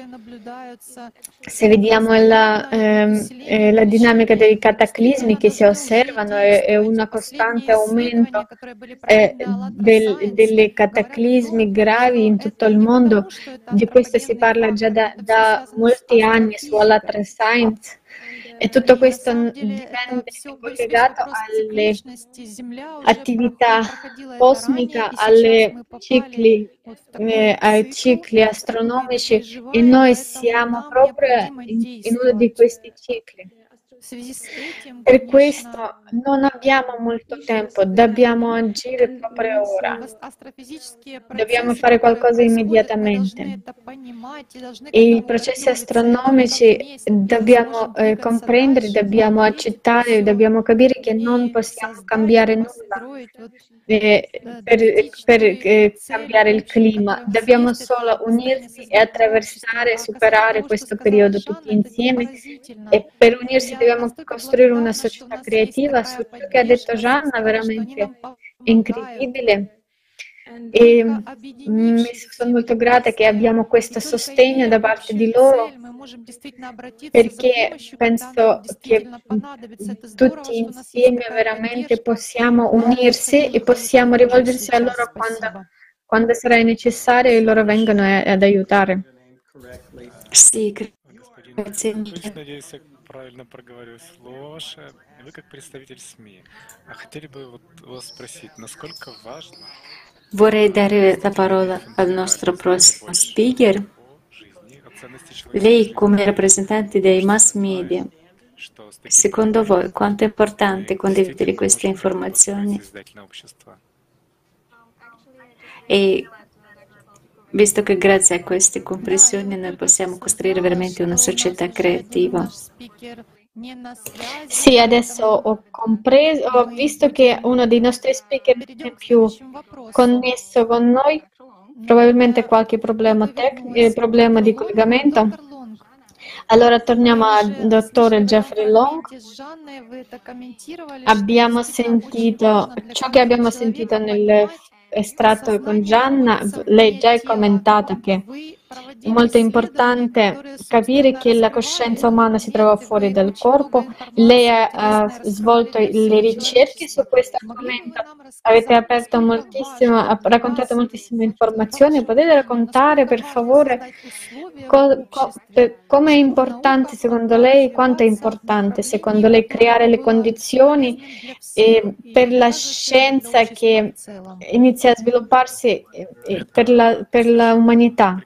Se vediamo la, ehm, eh, la dinamica dei cataclismi che si osservano, è, è un costante aumento eh, del, delle cataclismi gravi in tutto il mondo. Di questo si parla già da, da molti anni su Alatra Science. E tutto questo dipende, è collegato alle attività cosmiche, alle cicli, eh, ai cicli astronomici e noi siamo proprio in, in uno di questi cicli. Per questo non abbiamo molto tempo, dobbiamo agire proprio ora, dobbiamo fare qualcosa immediatamente. E i processi astronomici dobbiamo eh, comprendere, dobbiamo accettare, dobbiamo capire che non possiamo cambiare nulla eh, per, per eh, cambiare il clima, dobbiamo solo unirsi e attraversare, superare questo periodo tutti insieme e per unirsi dobbiamo costruire una società creativa. Su ciò che ha detto Gianna, veramente incredibile. E mm, sono molto grata che abbiamo questo sostegno da parte di loro, perché penso che tutti insieme veramente possiamo unirsi e possiamo rivolgersi a loro quando, quando sarà necessario e loro vengono ad aiutare. Sì, grazie. Надеюсь, я правильно проговариваю слово ваше. Вы как представитель СМИ, а хотели бы вот вас спросить, насколько важно Vorrei dare la parola al nostro prossimo speaker. Lei, come rappresentante dei mass media, secondo voi quanto è importante condividere queste informazioni? E visto che grazie a queste comprensioni noi possiamo costruire veramente una società creativa. Sì, adesso ho compreso, ho visto che uno dei nostri speaker è più connesso con noi, probabilmente qualche problema tecnico, problema di collegamento. Allora torniamo al dottore Jeffrey Long. Abbiamo sentito ciò che abbiamo sentito nel estratto con Gianna, lei già ha commentato che è molto importante capire che la coscienza umana si trova fuori dal corpo. Lei ha, ha svolto le ricerche su questo argomento, avete aperto moltissimo, ha raccontato moltissime informazioni. Potete raccontare per favore co, co, per, come è importante secondo lei, quanto è importante secondo lei creare le condizioni eh, per la scienza che inizia a svilupparsi eh, per la, per l'umanità?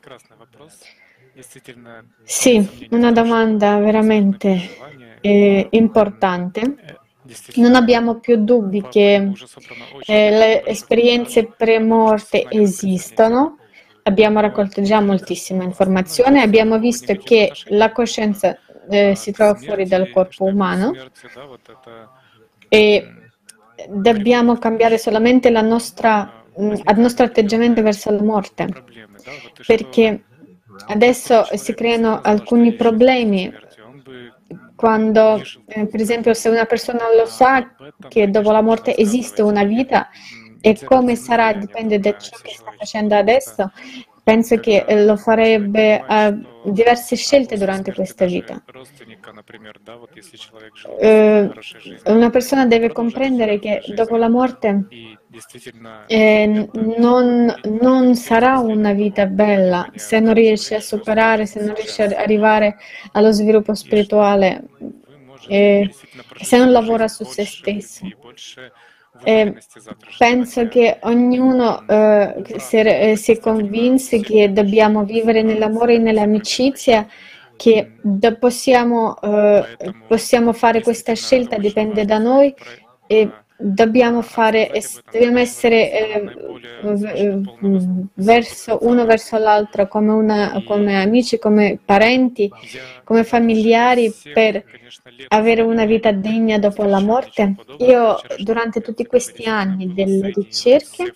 Sì, una domanda veramente eh, importante. Non abbiamo più dubbi che eh, le esperienze pre-morte esistono. Abbiamo raccolto già moltissime informazioni. Abbiamo visto che la coscienza eh, si trova fuori dal corpo umano e dobbiamo cambiare solamente la nostra, il nostro atteggiamento verso la morte, perché adesso si creano alcuni problemi quando, eh, per esempio, se una persona lo sa che dopo la morte esiste una vita e come sarà dipende da ciò che sta facendo adesso, penso che lo farebbe uh, diverse scelte durante questa vita. Uh, una persona deve comprendere che dopo la morte eh, non, non sarà una vita bella se non riesce a superare, se non riesce ad arrivare allo sviluppo spirituale, eh, se non lavora su se stesso. Eh, penso che ognuno eh, si, si convinse che dobbiamo vivere nell'amore e nell'amicizia, che possiamo, eh, possiamo fare questa scelta, dipende da noi e dobbiamo fare, es- dobbiamo essere eh, v- v- verso uno verso l'altro come, una, come amici, come parenti, come familiari per avere una vita degna dopo la morte. Io durante tutti questi anni delle ricerche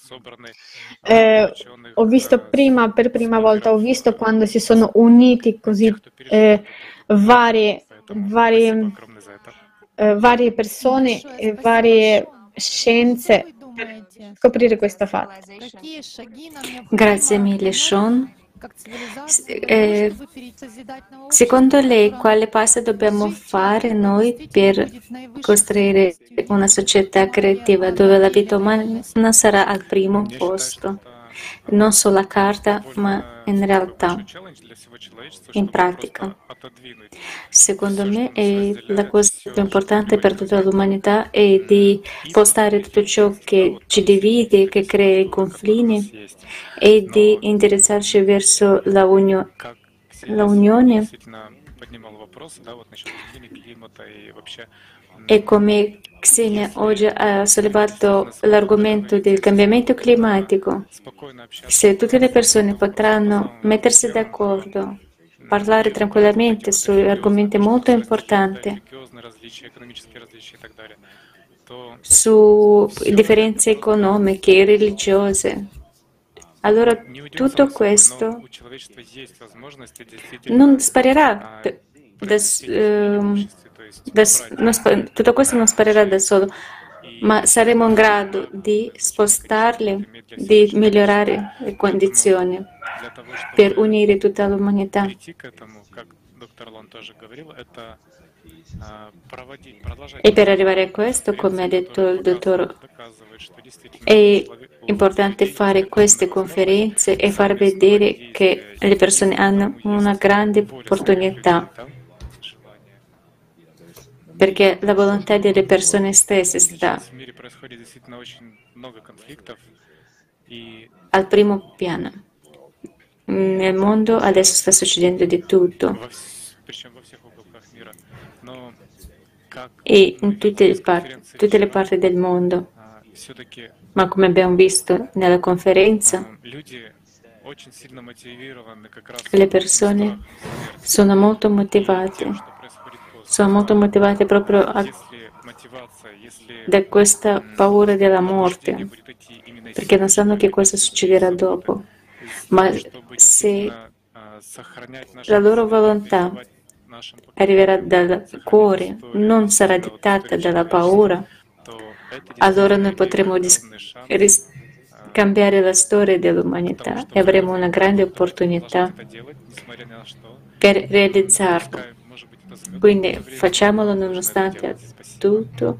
eh, ho visto prima, per prima volta, ho visto quando si sono uniti così eh, varie, varie, eh, varie persone e varie scienze per scoprire questo fatto. Какие шаги нам Grazie необходимо mille, Sean. как S- цивилизации для того, eh, чтобы перейти созидать на общество, Secondo lei, которое quale passo dobbiamo жить, fare это noi действительно per будет наивысшей costruire ценностью. una società Моя creativa dove la vita umana реальность. sarà al primo Я считаю, что posto, это non sulla carta, ma довольно in такой realtà, большой челлендж для всего человечества, in чтобы pratica. просто отодвинуть Secondo все, me что нас è la разделяет, cosa все, più что importante per приводит tutta к l'umanità è di spostare tutto ciò che ci divide, che crea i confini e di indirizzarci verso la, unio- как la Ксения unione. действительно поднимал вопрос, да, вот насчет изменения климата и вообще E come Xenia oggi ha sollevato l'argomento del cambiamento climatico, спокойно общаться se tutte le persone potranno mettersi d'accordo, parlare tranquillamente su argomenti molto importanti, религиозные различия, экономические различия и так далее, то su differenze economiche e religiose, allora tutto неудивительно, но questo у человечества есть возможности действительно non sparirà а, da, произвести s- ehm, преимущество, то есть da s- non spa- tutto questo non sparirà da solo, ma saremo in grado di spostarli, di migliorare le condizioni для того, per чтобы unire tutta l'umanità. прийти к этому, как доктор Лон тоже говорил, это а, проводить, продолжать E per arrivare a questo, come ha detto il dottor, доказывает, что действительно è человек- у importante людей fare есть queste огромная conferenze e возможность far vedere che le persone hanno una grande opportunità, да, желание. perché la volontà delle persone stesse sta Сейчас в мире происходит действительно очень много конфликтов, и al primo piano. Nel mondo adesso sta succedendo di tutto во вс- причем во всех уголках мира. Но как e мы in tutte видели le из parti, конференции tutte le вчера, parti del mondo. а, все-таки Ma come abbiamo visto nella conferenza, а, люди очень сильно мотивированы как раз le этим persone страхом смерти sono molto и motivate, тем, что происходит после. sono molto motivate proprio a- Если мотивация, если da questa paura della побуждение morte, будет идти именно perché non силой, sanno che cosa succederà dopo. Ma чтобы se действительно а, сохранять наше la loro поколение, volontà передавать нашим arriverà поколениям, dal сохранять cuore, историю, non sarà да, вот dettata историю dalla человечества, paura, то это allora действительно noi имеет potremo ris- огромный шанс ris- а, cambiare la storia к тому, dell'umanità e чтобы avremo una grande продолжать opportunità это делать, несмотря ни на что. per realizzarlo. Пускай, может быть, это займет Quindi какое-то время, facciamolo но нужно это nonostante делать. Спасибо. tutto.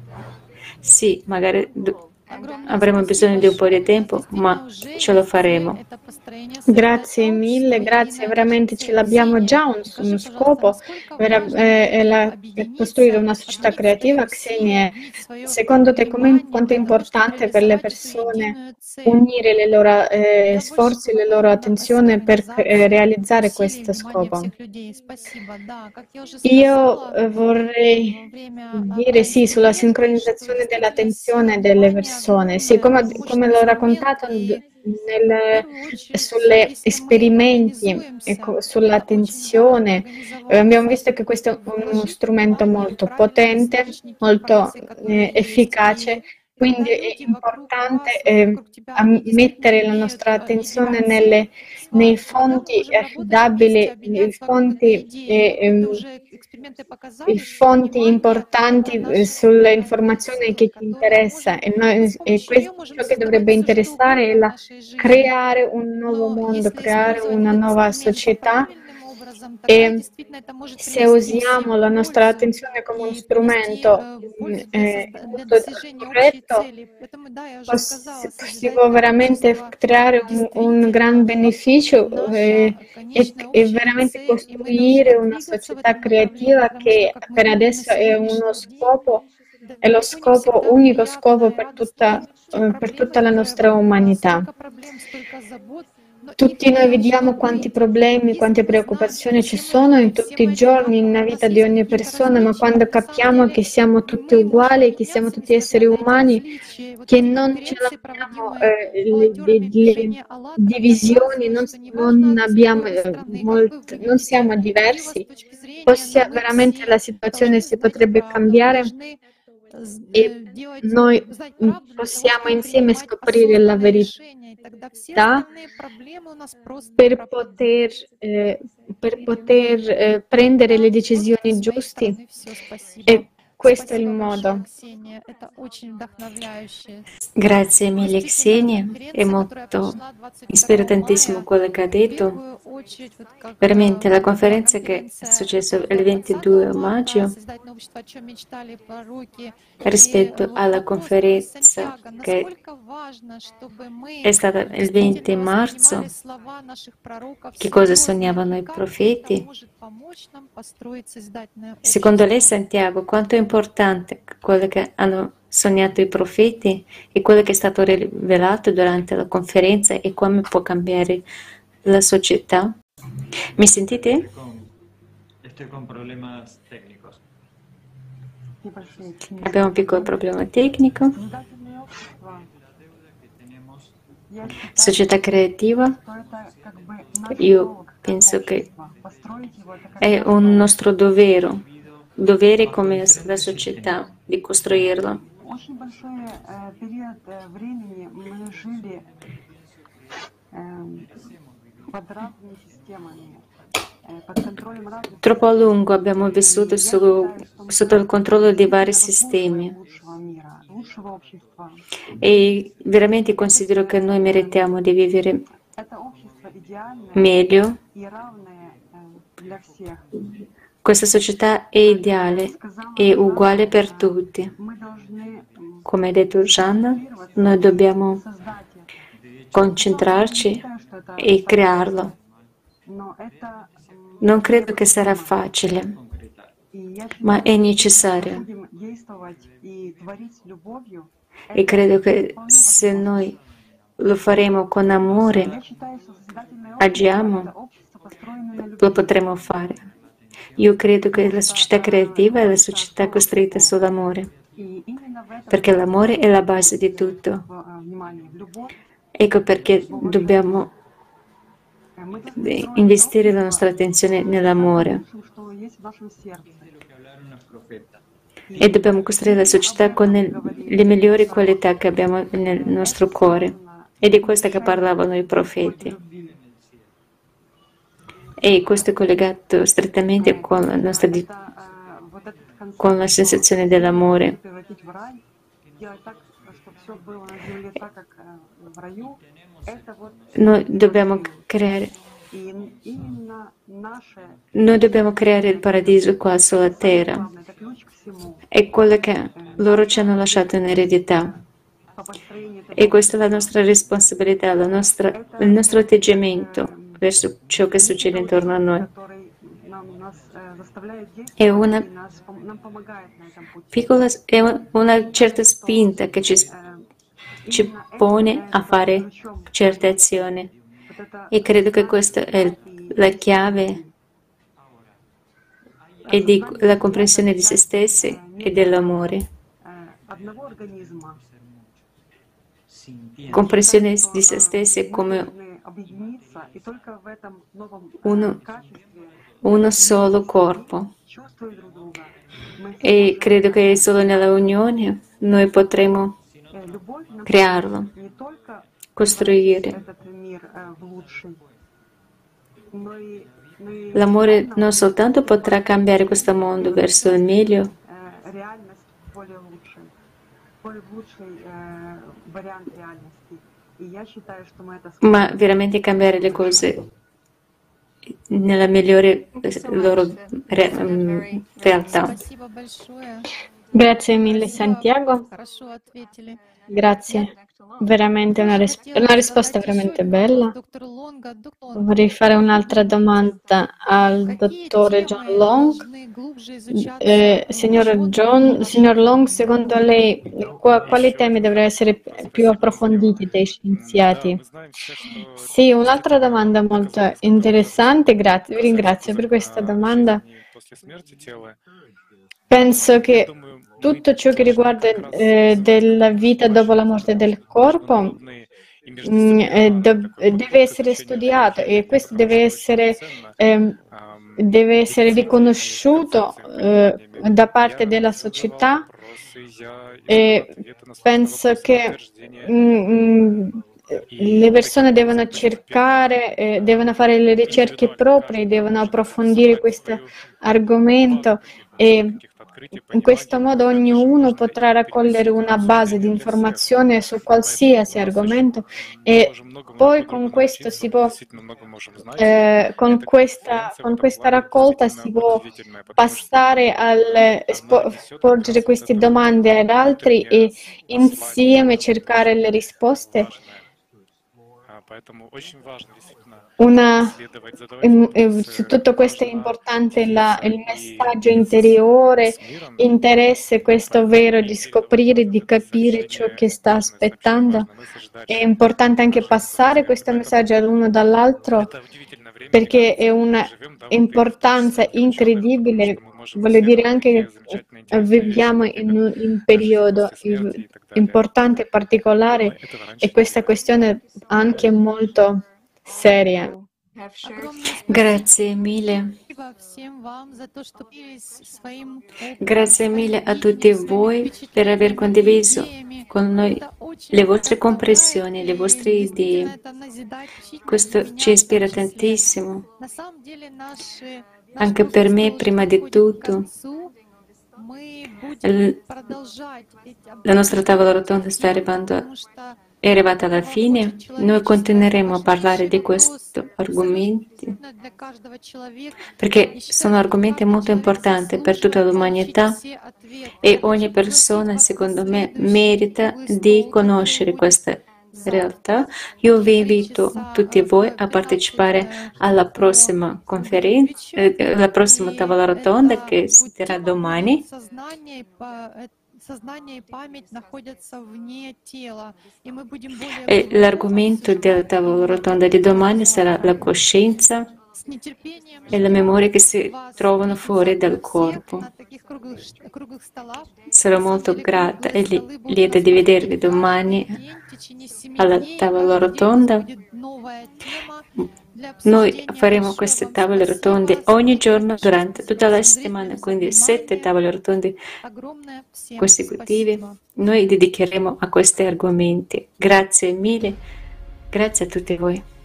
Sì, magari do- Огромное avremo bisogno di un po' di спасибо. tempo, Действительно, ma уже ce lo есть цель, faremo. это построение Grazie социального mille, сообщества, grazie, единая veramente наша ce цель. l'abbiamo Ксения, già un, скажи, uno пожалуйста, scopo, насколько vera- важно eh, è будет la- è costruire una объединиться, società объединить свои creativa. усилия, Xenia, объединить свое secondo te come, внимание quanto è для того, чтобы importante per le реализовать эту persone единую цель? unire le loro eh, Куда больше sforzi e le было loro бы attenzione per eh, организацию, realizzare усилий, questo внимания scopo? всех людей? Спасибо. Да, как я уже Io сказала, eh, vorrei во время dire sì sulla эксперимента, что sincronizzazione действительно dell'attenzione сила delle внимания persone. Sì, огромная, come, come мощный l'ho инструмент, raccontato и d- в nel, первую очередь, sulle если мы esperimenti e организуемся, co- это очень важно sull'attenzione, eh, abbiamo организоваться, visto che questo è uno вложить strumento внимание в molto правильные potente, источники molto информации, которые eh, есть, efficace, и quindi когда è люди вокруг importante вас, eh, вокруг тебя, a они действительно mettere la имеют nostra э, attenzione единую nelle, цель с nei вами, тогда мы fonti можем работать вместе, affidabili, nei объединяться вокруг этой fonti идеи. e, И это ehm, уже эксперименты i показали, что fonti внимание — importanti это eh, наша sulle внутренняя informazioni сила, che ci которую interessa можем, e, мы noi, с e помощью questo нее можем ciò che dovrebbe создавать все, что interessare è угодно в la, нашей жизни. creare un nuovo Но mondo, если creare использовать una этот nuova инструмент società правильным образом, тогда e действительно это может se принести usiamo всем la nostra пользу attenzione come uno и принести strumento э, mm, пользу для, eh, созда- для molto достижения общей corretto, цели. Поэтому, да, я уже pos- сказала, si può созидательное veramente общество creare un, un gran действительно beneficio наша eh, e, конечная e общая veramente цель, и мы costruire должны una двигаться в società этом направлении, creativa потому che что, как мы per видим на adesso è uno сегодняшний день, scopo, è lo далеко не scopo, всегда unico scopo приятно и per радостно tutta, те eh, per проблемы, tutta la которые nostra вокруг нас, umanità. столько проблем, столько забот. Tutti noi vediamo quanti problemi, quante preoccupazioni ci sono in tutti i giorni, nella vita di ogni persona, ma quando capiamo che siamo tutti uguali, che siamo tutti esseri umani, che non ce l'abbiamo eh, le, le- le divisioni, non, non abbiamo eh, molt- non siamo diversi, ossia veramente la situazione si potrebbe cambiare e noi mm, possiamo insieme scoprire la verità per poter, eh, per poter eh, prendere le decisioni giuste e questo è il modo. Grazie mille Xenia, è molto ispiratantissimo quello che ha detto. Veramente la conferenza che è successa il ventidue maggio rispetto alla conferenza che è stata il venti marzo, che cosa sognavano i profeti? Secondo lei, Santiago, quanto è importante quello che hanno sognato i profeti e quello che è stato rivelato durante la conferenza e come può cambiare la società? Mi sentite? Estoy con problemas técnicos. Небольшие Abbiamo un piccolo problema tecnico. созидательное общество. Я считаю, Società creativa, что это как бы наш io долг как penso che общество. Построить его это как è наш un долг. nostro dovere, dovere come la società di costruirla. Очень большой э, период э, времени мы жили эм, под разными системами, э, под контролем разных Troppo a систем. lungo abbiamo vissuto И я su- считаю, что мы sotto il controllo di vari заслуживаем sistemi лучшего мира, лучшего общества. e veramente considero che noi meritiamo di vivere Это общество идеальное meglio. и равное э, для всех. Questa società è ideale e uguale per tutti. Мы должны м, Come ha detto Gianna, noi dobbiamo создать их. concentrarci Считаю, что это e crearlo. но это м, Non credo che sarà facile, и я ma è считаю, necessario. будем действовать и творить с любовью. E credo che se noi lo faremo con amore, Я считаю, что созидательное общество — agiamo, это общество, построенное на lo любви. potremo fare. Io credo che la società creativa è la società costruita sull'amore, И именно в этом perché l'amore è la base di tutto. в, э, внимание, в любовь. Ecco perché dobbiamo Э, Мы должны строить investire la общество nostra attenzione nell'amore лучшим, что есть в нашем сердце. e dobbiamo costruire la società con le, le migliori qualità che abbiamo nel nostro cuore. E di questo che parlavano i profeti. E questo è collegato strettamente con la nostra di- Это, э, вот этот концепт, con la sensazione dell'amore. превратить в рай, делать так, чтобы все было на земле так, как э, в раю, это вот Noi dobbiamo creare, и именно наше noi dobbiamo creare il paradiso qua sulla terra. главное, это ключ к всему. È quello che loro ci hanno lasciato in eredità. По построению этого E questa è la nostra responsabilità, la nostra- il nostro atteggiamento verso ciò che succede intorno a noi. который нам, нас э, заставляет È действовать una и нас, пом- нам помогает на этом пути. piccola, è un- una certa spinta che ci, Э, ci именно это pone a является fare ключом. certe azioni. Вот это E credo che questa è il- la chiave e di la comprensione di se stessi e dell'amore. э, одного организма. Comprensione di se stessi Мы come должны объединиться, и только в этом новом э, uno, качестве, uno solo corpo. чувствуя друг друга, мы E credo che solo nella unione noi potremo э, любовь нас crearlo, не только costruire. этот мир э, в лучший, но и, но и L'amore реально, non soltanto potrà cambiare questo mondo verso il meglio, э, реальность более лучшей, более лучший э, вариант реальности. И я считаю, что мы это ma сможем. veramente cambiare le cose nella migliore eh, loro re- mm, realtà. Спасибо большое. Grazie mille Спасибо, Santiago, хорошо ответили. grazie. veramente una, ris- una risposta veramente bella. Vorrei fare un'altra domanda al dottore John Long. Eh, signor John, signor Long, secondo lei qua- quali temi dovrebbero essere più approfonditi dai scienziati? Sì, un'altra domanda molto interessante, grazie, vi ringrazio per questa domanda. Penso che tutto ciò che riguarda eh, della vita dopo la morte del corpo mh, eh, do- deve essere studiato e questo deve essere, ehm, deve essere riconosciuto eh, da parte della società e penso che mm, le persone devono cercare, eh, devono fare le ricerche proprie, devono approfondire questo argomento e in questo modo ognuno potrà raccogliere una base di informazione su qualsiasi argomento e poi con questo si può, eh, con questa, con questa raccolta si può passare al spo- porgere queste domande ad altri e insieme cercare le risposte. Una, em- em, su tutto questo è importante la- il messaggio interiore, interesse, questo vero di scoprire, di capire ciò che sta aspettando. È importante anche passare questo messaggio all'uno dall'altro perché è una importanza incredibile. Voglio dire anche che viviamo in un, in un periodo eh, importante e particolare e questa questione anche molto seria. Grazie mille. Grazie mille a tutti voi per aver condiviso con noi le vostre comprensioni, le vostre idee. Questo ci ispira tantissimo. Anche per me, prima di tutto, la nostra tavola rotonda sta arrivando, è arrivata alla fine. Noi continueremo a parlare di questi argomenti perché sono argomenti molto importanti per tutta l'umanità e ogni persona, secondo me, merita di conoscere questa realtà. Io vi invito tutti voi a partecipare alla prossima conferenza, eh, alla prossima tavola rotonda che si terrà domani. E l'argomento della tavola rotonda di domani sarà la coscienza e la memoria che si trovano fuori dal corpo. Sarò molto grata e li- lieta di vedervi domani alla tavola rotonda. Noi faremo queste tavole rotonde ogni giorno durante tutta la settimana, quindi sette tavole rotonde consecutive. Noi dedicheremo a questi argomenti. Grazie mille, grazie a tutti voi.